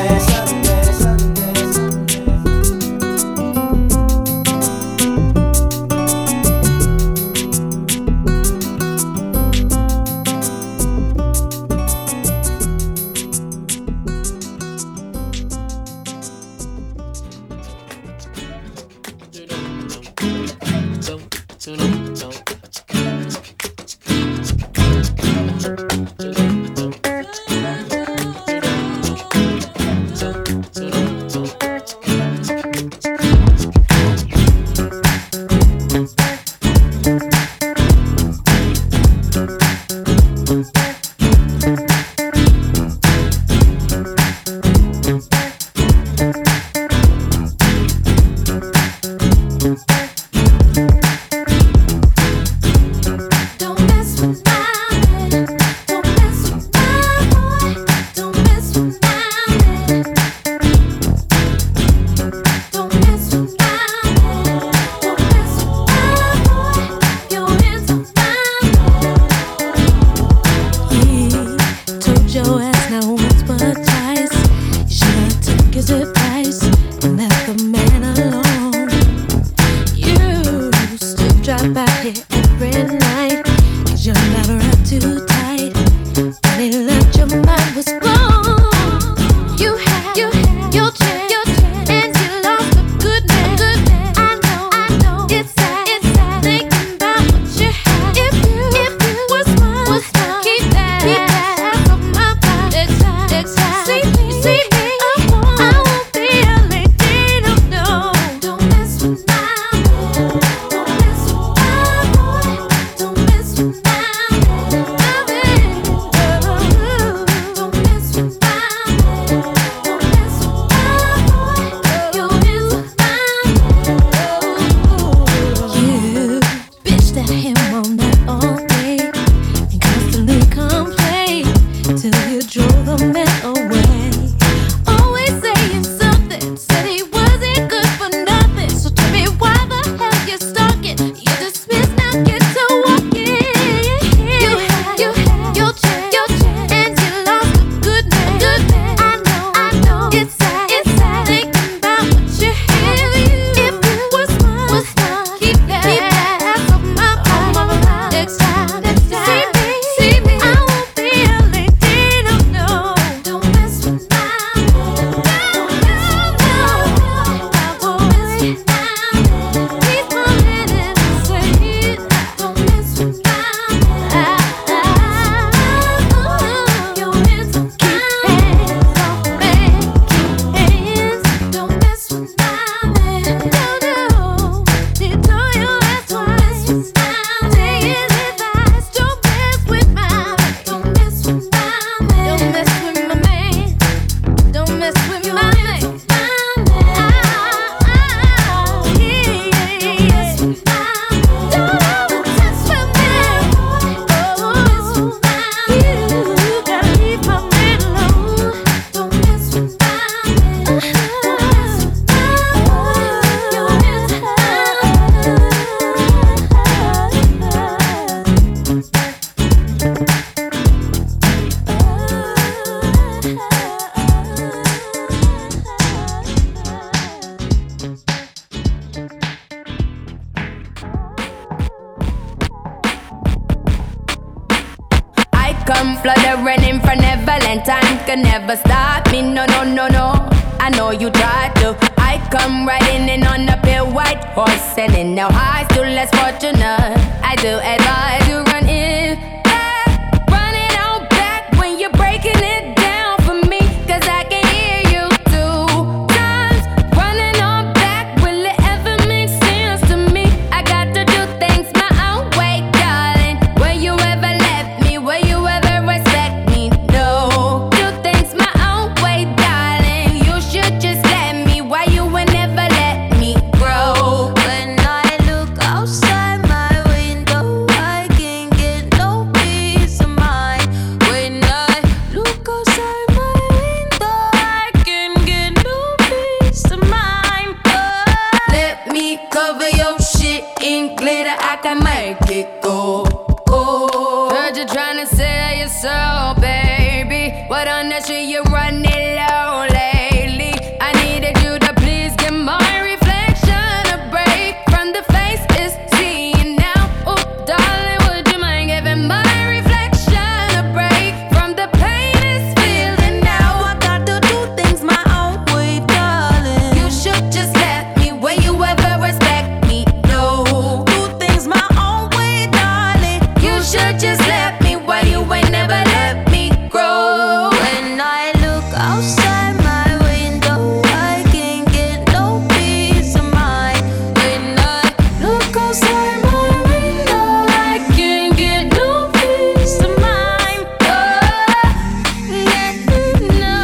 fluttering in for Neverland. Time can never stop me, no, no, no, no. I know you tried to. I come riding in on a pale white horse, selling now high, still less fortunate. I do advise you run in back, run it on back when you're breaking it down for me, 'cause I can hear you 2 times. Running on back, will it ever make sense to me? I got to do things my own way, darling. Will you ever let me? Will you ever respect me? No. Do things my own way, darling. You should just let me. Why you will never let me grow? When I look outside my window, I can't get no peace of mind. When I look outside my window, I can't get no peace of mind. Oh. Let me cover your shit in glitter, I can make it go. Oh. Heard you trying to sell your soul, baby. What on that shit you running low lately? I needed you to please give my reflection a break from the face it's seeing now. Oh, darling, would you mind giving my reflection a break from the pain it's feeling now? I got to do things my own way, darling. You should just let me. Will you ever respect me? No. Do things my own way, darling. You should just let me. Why you ain't never let me grow? When I look outside my window, I can't get no peace of mind. When I look outside my window, I can't get no peace of mind. Oh, yeah, no.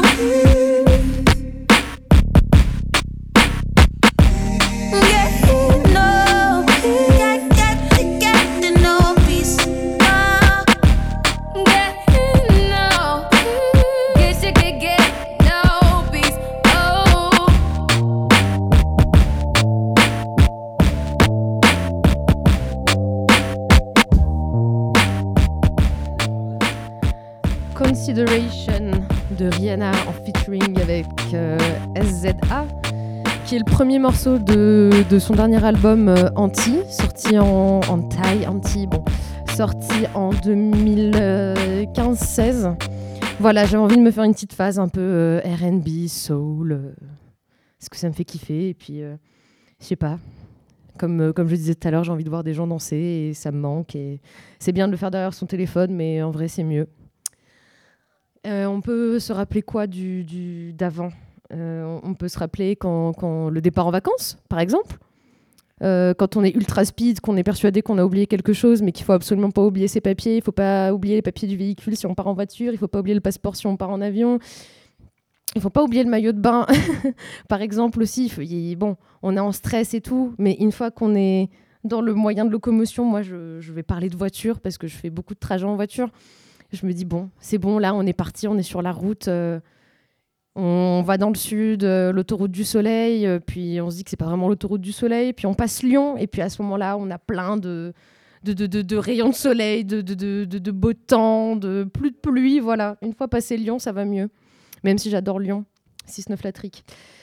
Yeah, no. Get no peace. Yeah, no. Guess you could get no peace. Oh. Consideration de Rihanna en featuring avec SZA, qui est le premier morceau de son dernier album Anti, sorti en Thai, Anti, bon, sorti en 2015-16. Voilà, j'avais envie de me faire une petite phase un peu R&B, soul, parce que ça me fait kiffer, et puis je sais pas. Comme je disais tout à l'heure, j'ai envie de voir des gens danser et ça me manque. Et c'est bien de le faire derrière son téléphone, mais en vrai, c'est mieux. On peut se rappeler quoi d'avant ? On peut se rappeler quand le départ en vacances, par exemple. Quand on est ultra speed, qu'on est persuadé qu'on a oublié quelque chose, mais qu'il faut absolument pas oublier ses papiers. Il faut pas oublier les papiers du véhicule si on part en voiture. Il faut pas oublier le passeport si on part en avion. Il faut pas oublier le maillot de bain, par exemple aussi. Bon, on est en stress et tout, mais une fois qu'on est dans le moyen de locomotion, moi je vais parler de voiture parce que je fais beaucoup de trajets en voiture. Je me dis bon, c'est bon, là on est parti, on est sur la route, on va dans le sud, l'autoroute du soleil, puis on se dit que c'est pas vraiment l'autoroute du soleil, puis on passe Lyon, et puis à ce moment-là on a plein de rayons de soleil, de beau temps, de plus de pluie, voilà. Une fois passé Lyon, ça va mieux. Même si j'adore Lyon, 6-9 la trique.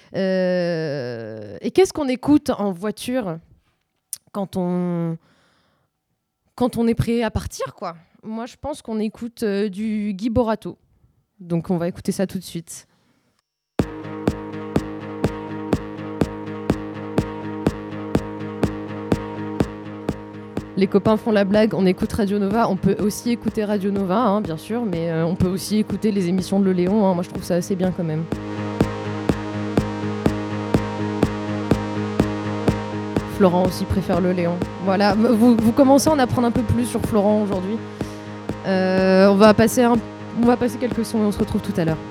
Et qu'est-ce qu'on écoute en voiture quand on est prêt à partir, quoi ? Moi, je pense qu'on écoute du Guy Borato. Donc, on va écouter ça tout de suite. Les copains font la blague, on écoute Radio Nova. On peut aussi écouter Radio Nova, hein, bien sûr, mais on peut aussi écouter les émissions de Le Léon. Hein. Moi, je trouve ça assez bien quand même. Florent aussi préfère Le Léon. Voilà, vous commencez à en apprendre un peu plus sur Florent aujourd'hui. On va passer quelques sons et on se retrouve tout à l'heure.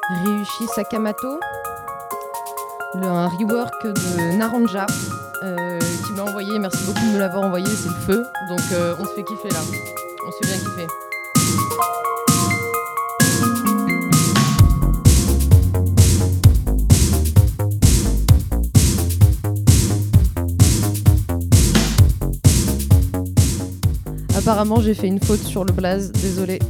Ryuichi Sakamoto, un rework de Naranja qui m'a envoyé. Merci beaucoup de me l'avoir envoyé, c'est le feu. Donc on se fait kiffer là. On se fait bien kiffer. Apparemment, j'ai fait une faute sur le blaze, désolé.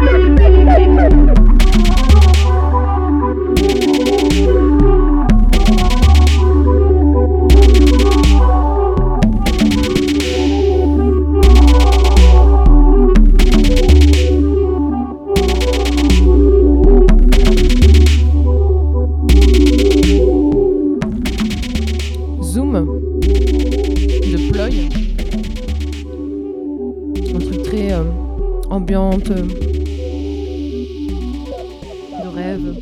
ambiante, de rêve.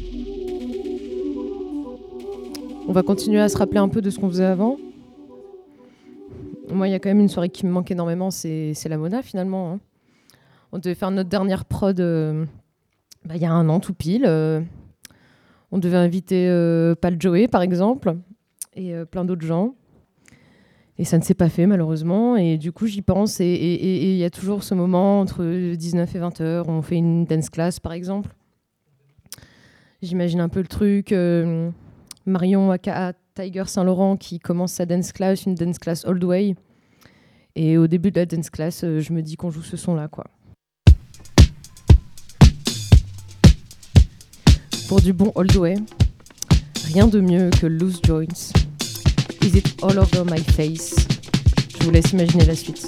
On va continuer à se rappeler un peu de ce qu'on faisait avant. Moi, il y a quand même une soirée qui me manque énormément, c'est la Mona finalement. Hein. On devait faire notre dernière prod il y a un an tout pile. On devait inviter Pal Joey par exemple et plein d'autres gens. Et ça ne s'est pas fait malheureusement. Et du coup, j'y pense. Et il y a toujours ce moment entre 19 et 20h où on fait une dance class par exemple. J'imagine un peu le truc. Marion aka Tiger Saint-Laurent qui commence sa dance class, une dance class all the way. Et au début de la dance class, je me dis qu'on joue ce son-là, quoi. Pour du bon all the way, rien de mieux que Loose Joints. Is it all over my face? Je vous laisse imaginer la suite.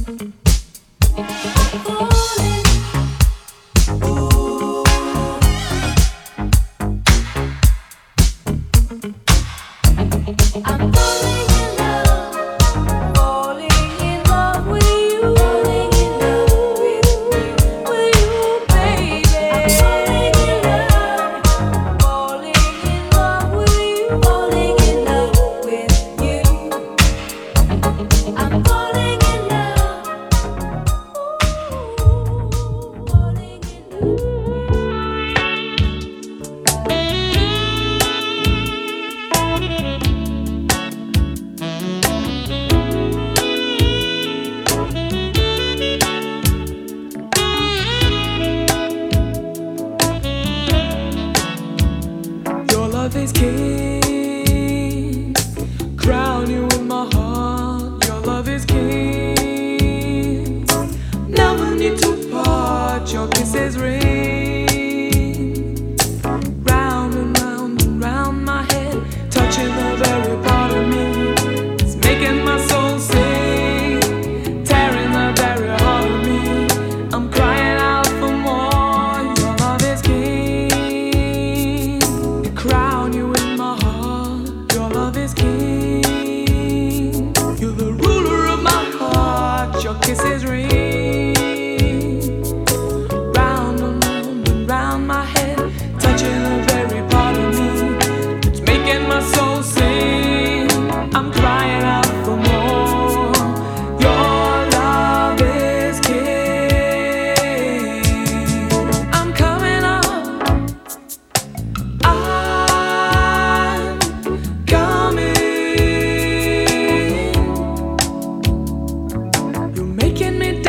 Your love is king. Crown you in my heart. Your love is king. Never need to part. Your kisses ring. Round and round my head, touching the very part of me. It's making my soul sing, tearing the very heart of me. I'm crying out for more. Your love is king. Crown you in my heart. Your love is king. You're the ruler of my heart. Your kisses ring. Round and round my head, touching the very part of me. It's making my soul sing. I'm crying out for more. Your love is king. I'm coming up. I'm coming. You're making me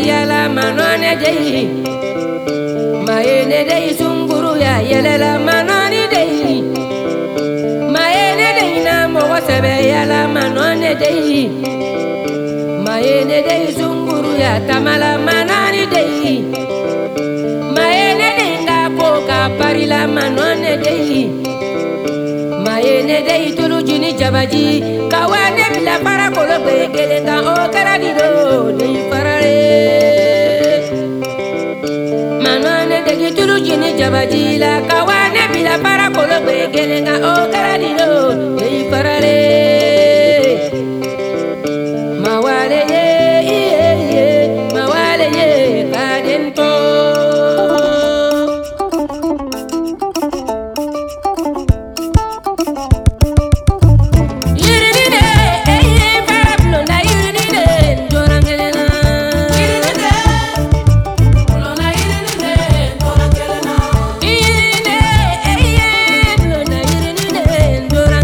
yala manone dei maene dei sunguru ya yala manone dei maene dei na mo wasebe yala manone dei maene dei sunguru ya tamala manani dei maene dei ngapo ka parila manone dei maene dei tulu jini jabaji kawane bila para kolo begele ka o karadido dei parare manone dei tulu jini jabaji la kawane bila para kolo begele ka o karadido dei parare mawale ye mawale ye kadento Dora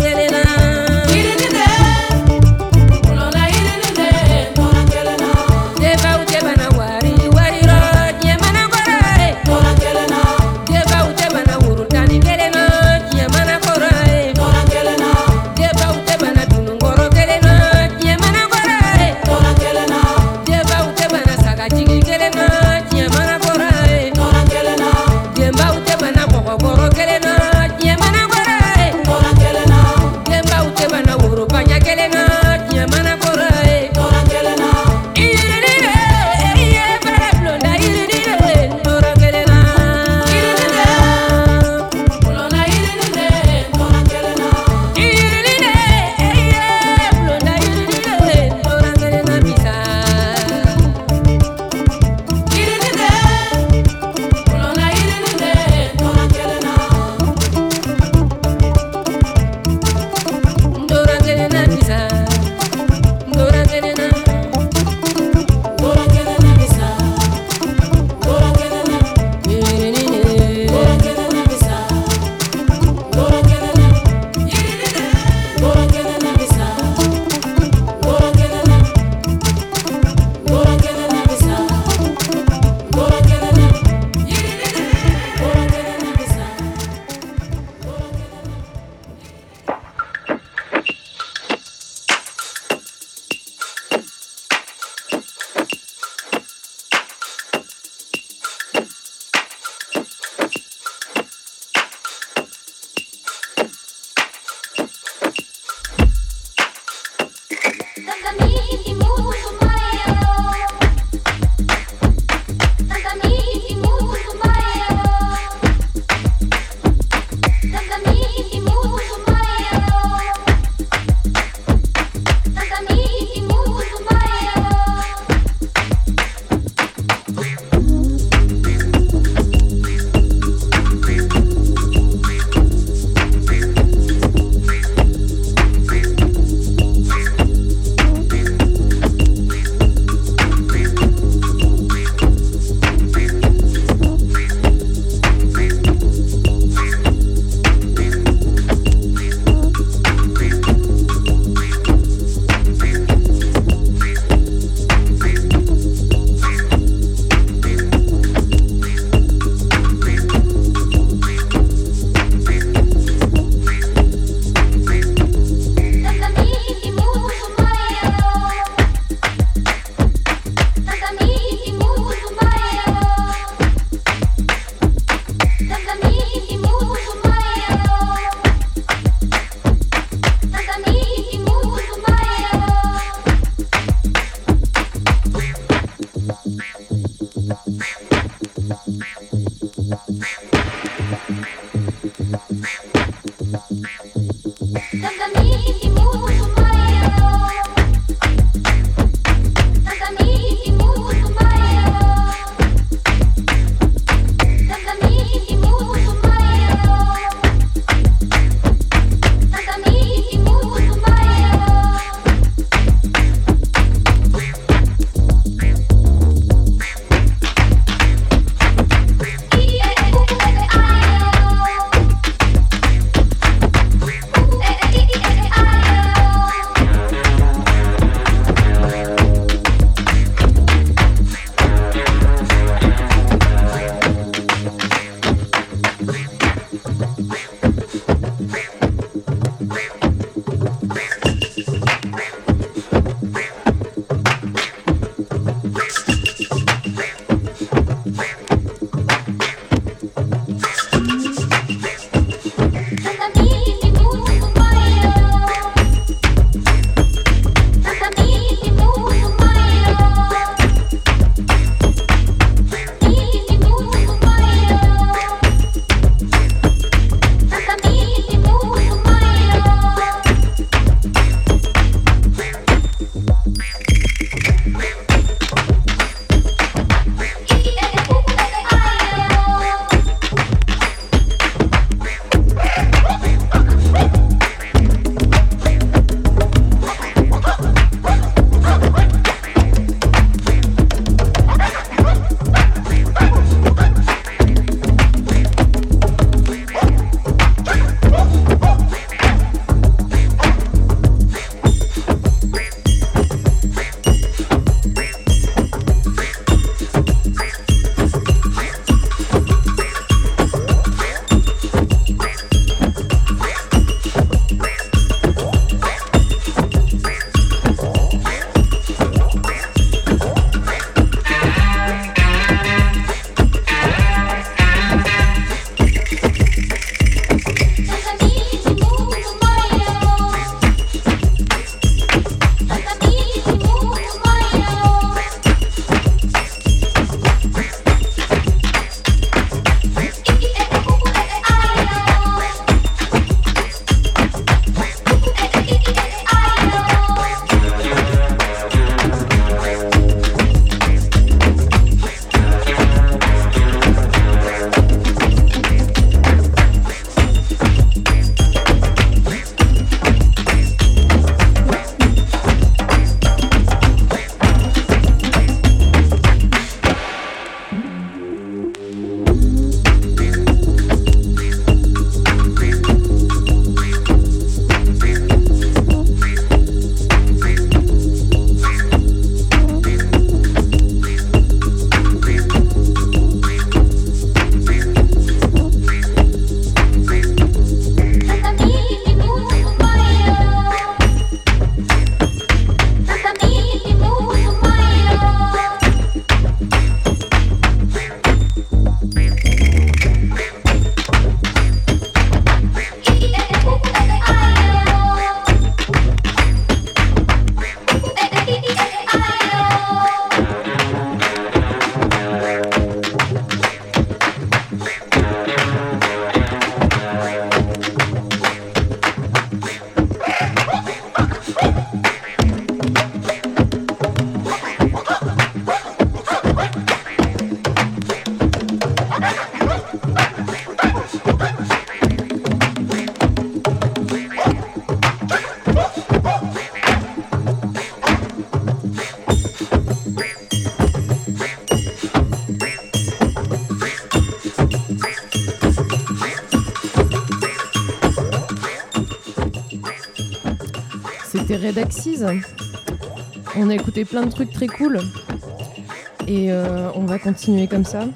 écouté Red Axis. On a écouté plein de trucs très cool. Et on va continuer comme ça.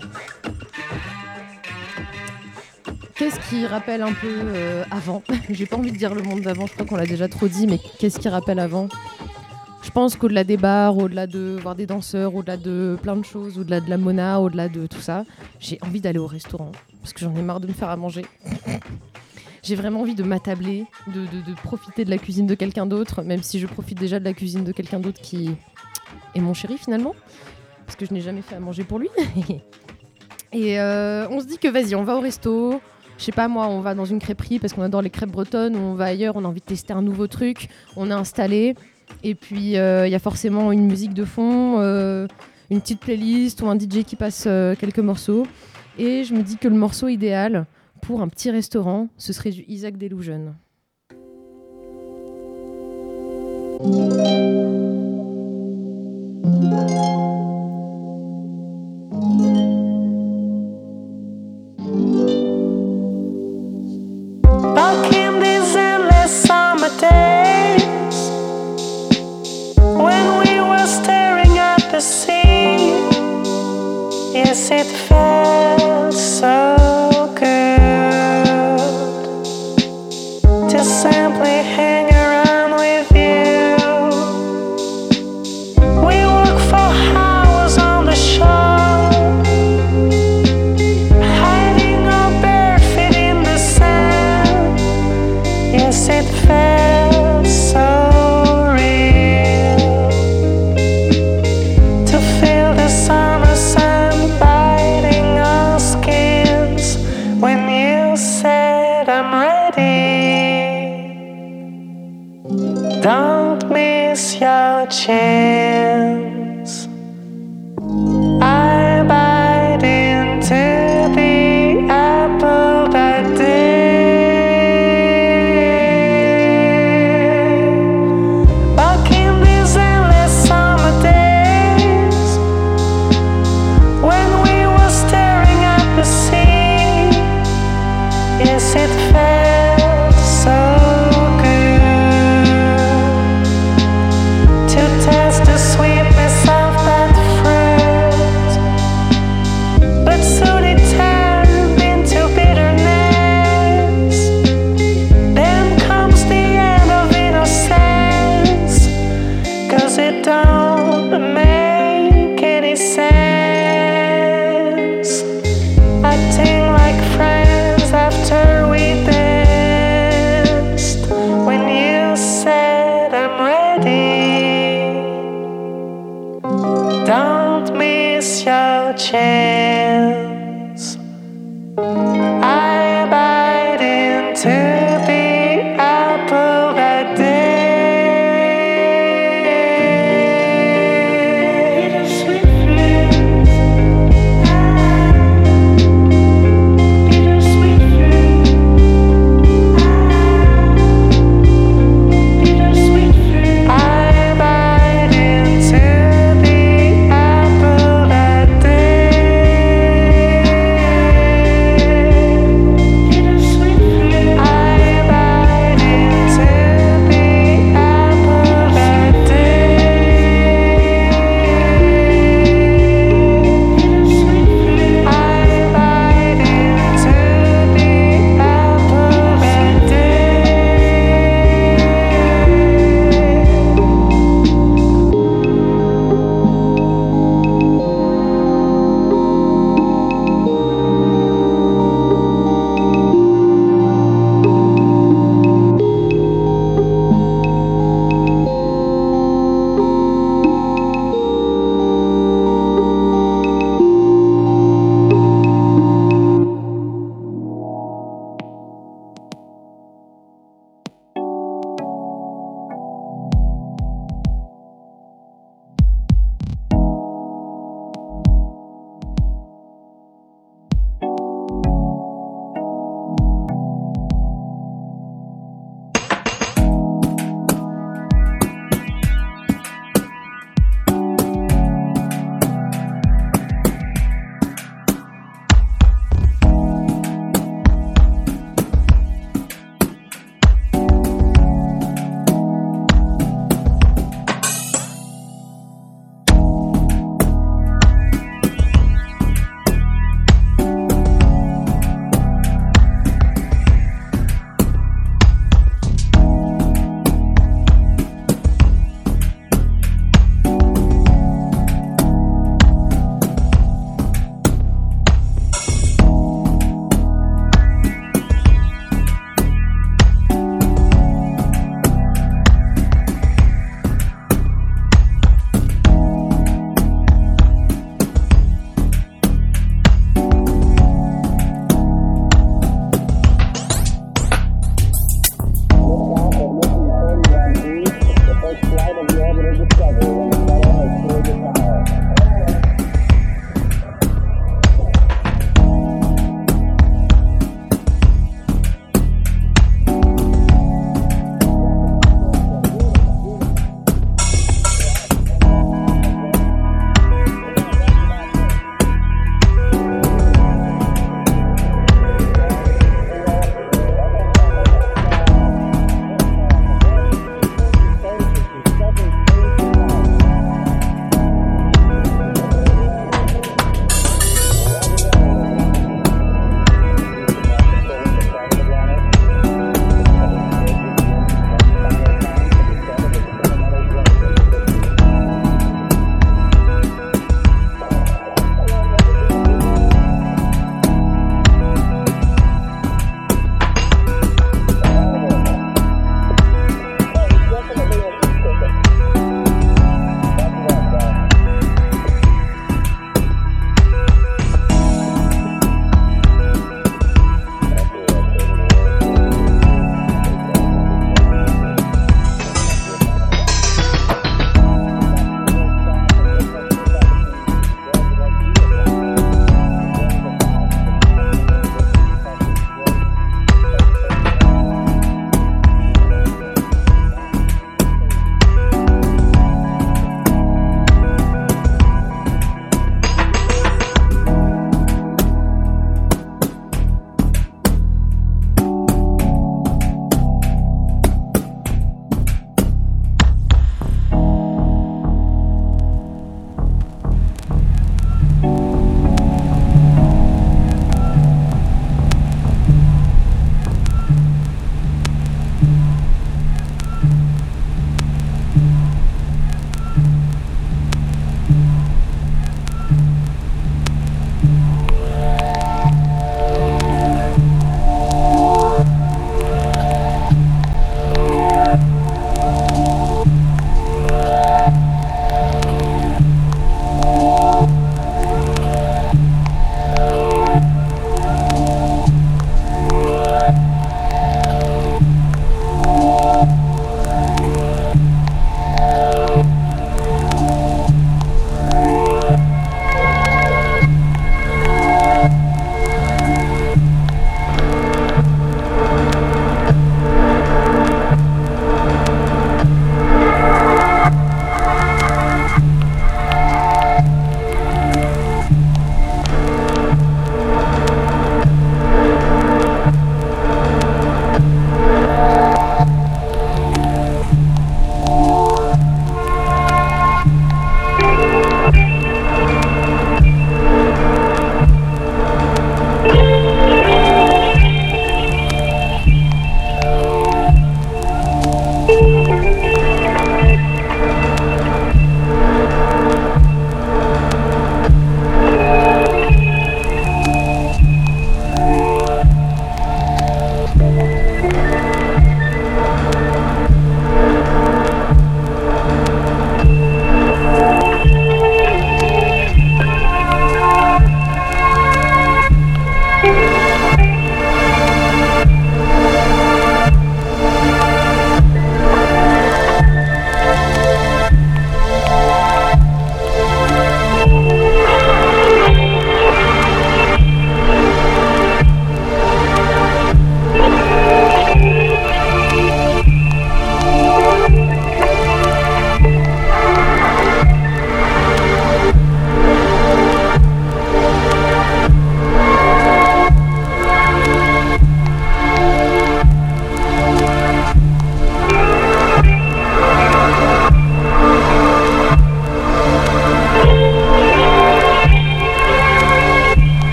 Qu'est-ce qui rappelle un peu avant ? J'ai pas envie de dire le monde d'avant, je crois qu'on l'a déjà trop dit, mais qu'est-ce qui rappelle avant ? Je pense qu'au-delà des bars, au-delà de voir des danseurs, au-delà de plein de choses, au-delà de la mona, au-delà de tout ça, j'ai envie d'aller au restaurant, parce que j'en ai marre de me faire à manger. J'ai vraiment envie de m'attabler, de profiter de la cuisine de quelqu'un d'autre, même si je profite déjà de la cuisine de quelqu'un d'autre qui est mon chéri finalement, parce que je n'ai jamais fait à manger pour lui. Et on se dit que vas-y, on va au resto. Je sais pas moi, on va dans une crêperie parce qu'on adore les crêpes bretonnes, ou on va ailleurs, on a envie de tester un nouveau truc, on est installé, et puis il y a forcément une musique de fond, une petite playlist ou un DJ qui passe quelques morceaux. Et je me dis que le morceau idéal pour un petit restaurant, ce serait du Isaac Delusion. Back in these endless summer days, when we were staring at the sea, yes, it felt so good to simply hang around with you. We walked for hours on the shore, hiding our bare feet in the sand. Yes, it felt so real to feel the summer sun biting our skins when you said I'm ready. Don't miss your chance. I bite into the apple that day. Back in these endless summer days, when we were staring at the sea, yes, it felt so good to taste the sweetness of that fruit, but soon it turned into bitterness. Then comes the end of innocence, 'cause it don't make any sense. Acting like friends after we danced, when you said I'm ready. Don't miss your chance. I bite into the apple that day. Bittersweet fruit. Bittersweet fruit. Bittersweet fruit. I bite into the apple that day.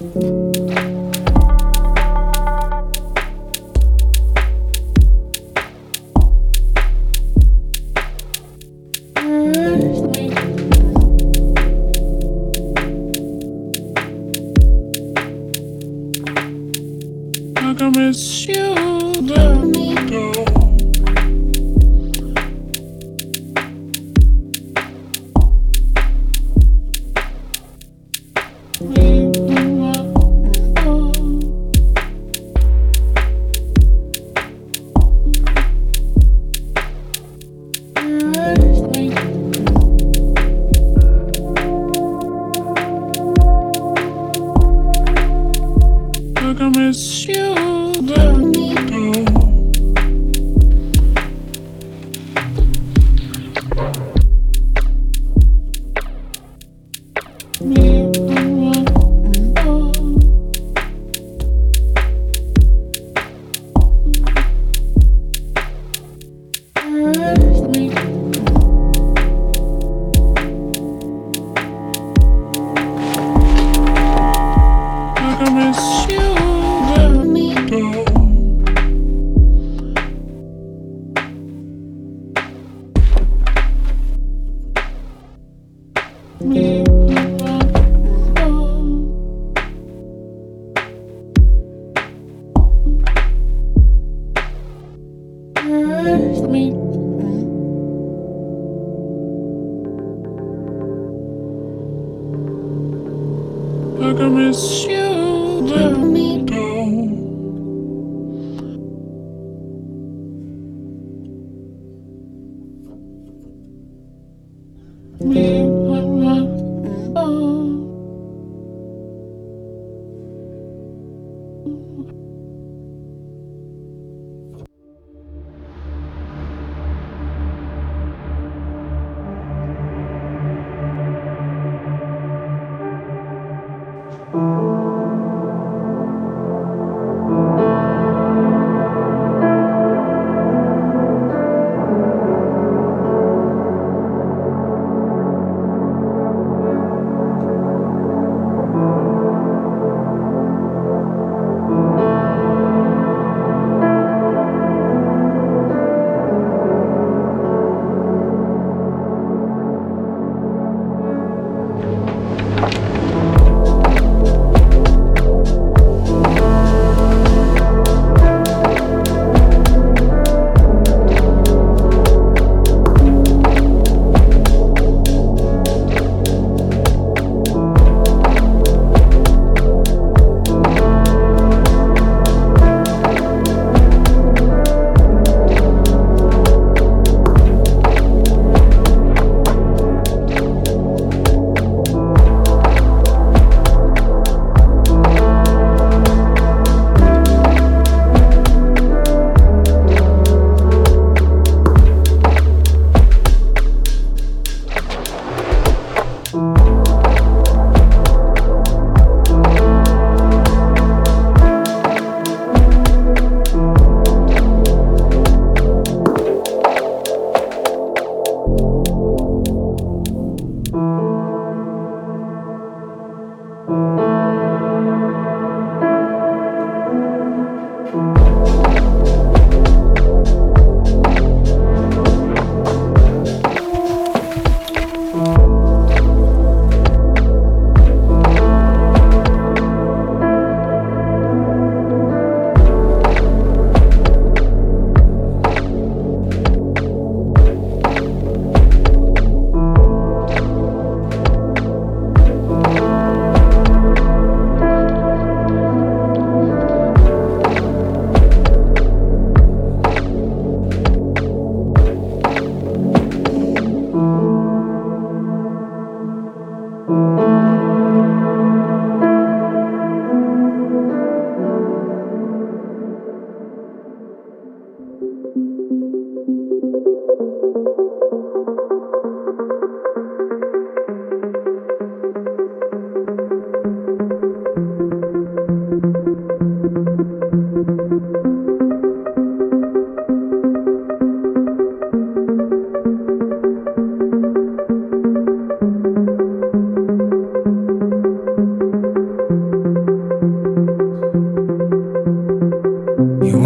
Like I miss you, let me go. Like I miss you, let me go. Like I miss you, let me go. Like I miss you, let me go.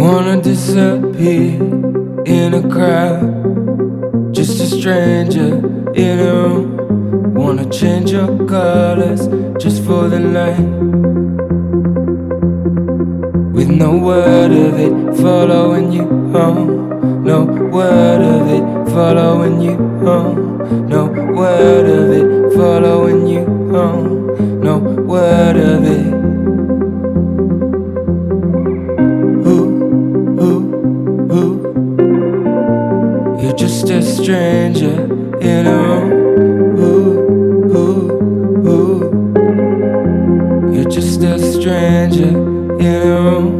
wanna disappear in a crowd, just a stranger in a room. Wanna change your colors just for the night, with no word of it following you home. No word of it following you home. No word of it following you home. No word of it. You're just a stranger in a room. You're just a stranger in a room.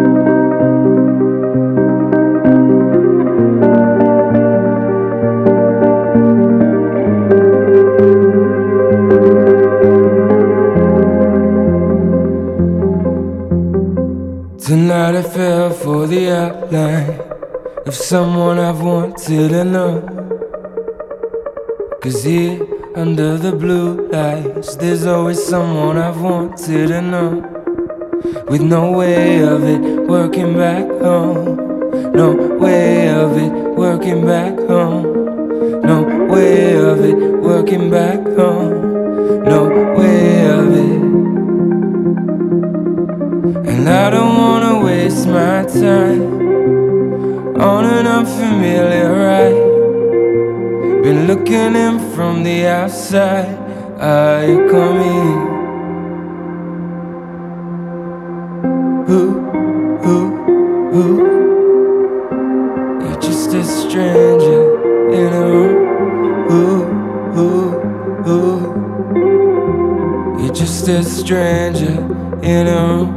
Tonight I fell for the outline of someone I've wanted to know. 'Cause here under the blue lights, there's always someone I've wanted to know. With no way of it working back home. No way of it working back home. No way of it working back home. No way of it. And I don't wanna waste my time on an unfamiliar ride. Been looking in from the outside. Are you coming? You're just a stranger in a room. You're just a stranger in a room.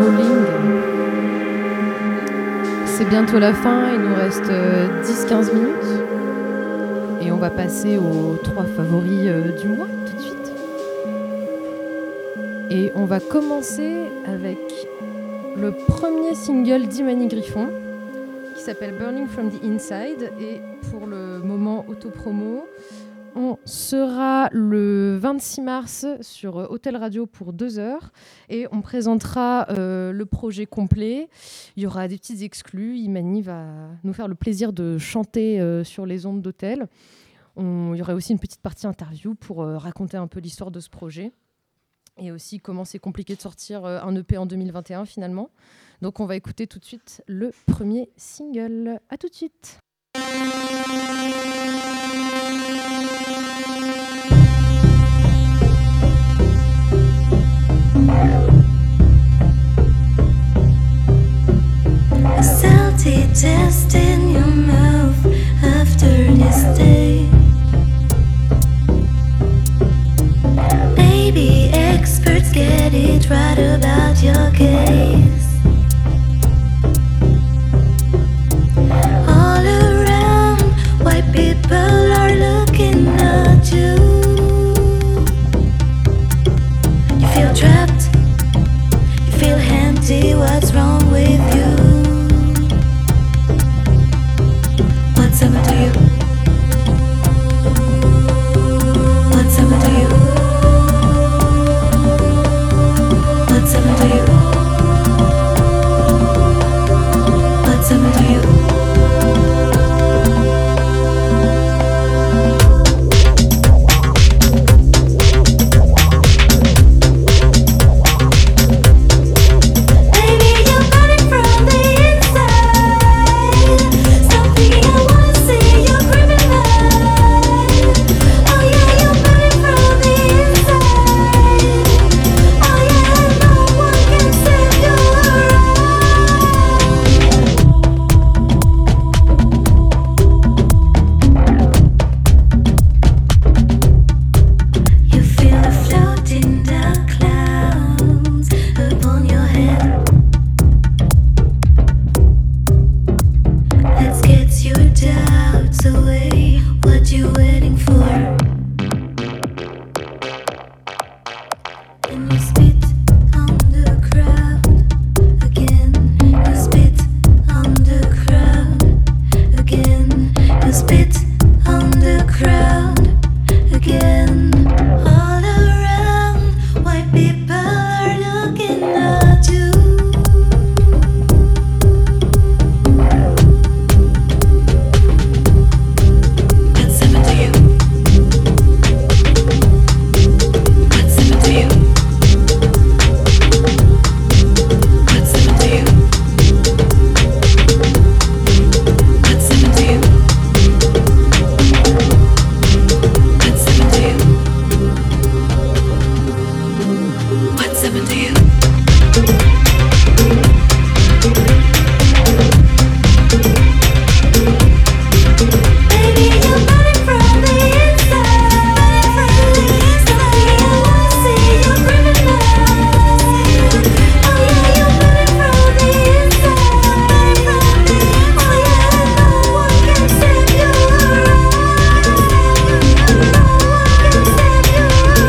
Falling. C'est bientôt la fin, il nous reste 10-15 minutes. Et on va passer aux 3 favoris du mois tout de suite. Et on va commencer avec le premier single d'Imani Griffon qui s'appelle Burning from the Inside. Et pour le moment autopromo, on sera le 26 mars sur Hôtel Radio pour 2 heures et on présentera le projet complet. Il y aura des petites exclus. Imani va nous faire le plaisir de chanter sur les ondes d'Hôtel. Il y aura aussi une petite partie interview pour raconter un peu l'histoire de ce projet et aussi comment c'est compliqué de sortir un EP en 2021 finalement. Donc on va écouter tout de suite le premier single. À tout de suite. A salty taste in your mouth after this day. Maybe experts get it right about your case. All around, white people are looking at you. You feel trapped, you feel empty, what's wrong with you? What's happened to you? What's happened to you? What's happened to you? What's happened to you? Baby, you're burning from the inside. Stop thinking I wanna see you criminal. Oh yeah, you're burning from the inside. Oh yeah, no one can save you. You feel a floating dark clouds upon your head. Let's get your doubts away. What you waiting for? And you spit on the crowd again. You spit on the crowd again. You spit on the crowd again. All around, white people are looking at you. What's happened to you? What's happened to you? What's happened to you? What's happened to you? What's happened to you? What's happened to you? Baby, you're burning from the inside. Stop thinking I wanna see you criminal. Oh yeah, you're burning from the inside. Oh yeah, no one can save you. No one can save you.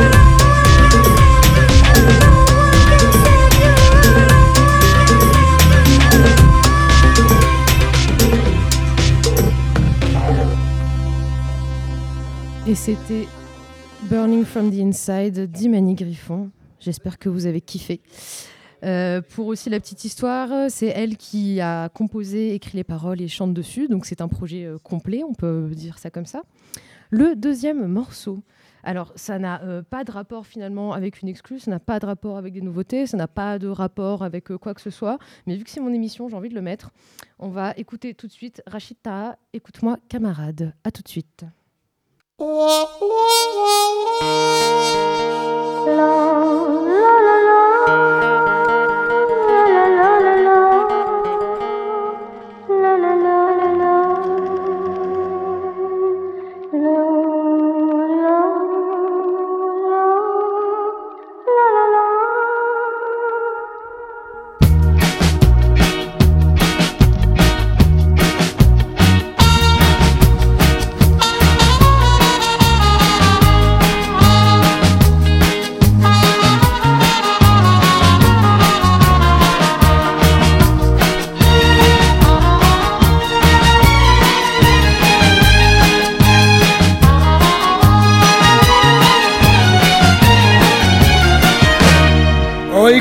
Et c'était Burning from the Inside d'Imani Griffon. J'espère que vous avez kiffé. Pour aussi la petite histoire, c'est elle qui a composé, écrit les paroles et chante dessus. Donc c'est un projet complet, on peut dire ça comme ça. Le deuxième morceau, alors ça n'a pas de rapport finalement avec une exclue, ça n'a pas de rapport avec des nouveautés, ça n'a pas de rapport avec quoi que ce soit. Mais vu que c'est mon émission, j'ai envie de le mettre. On va écouter tout de suite Rachid Taha, Écoute-moi camarade. À tout de suite.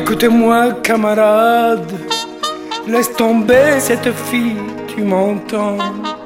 Écoute-moi, camarade, laisse tomber cette fille, tu m'entends?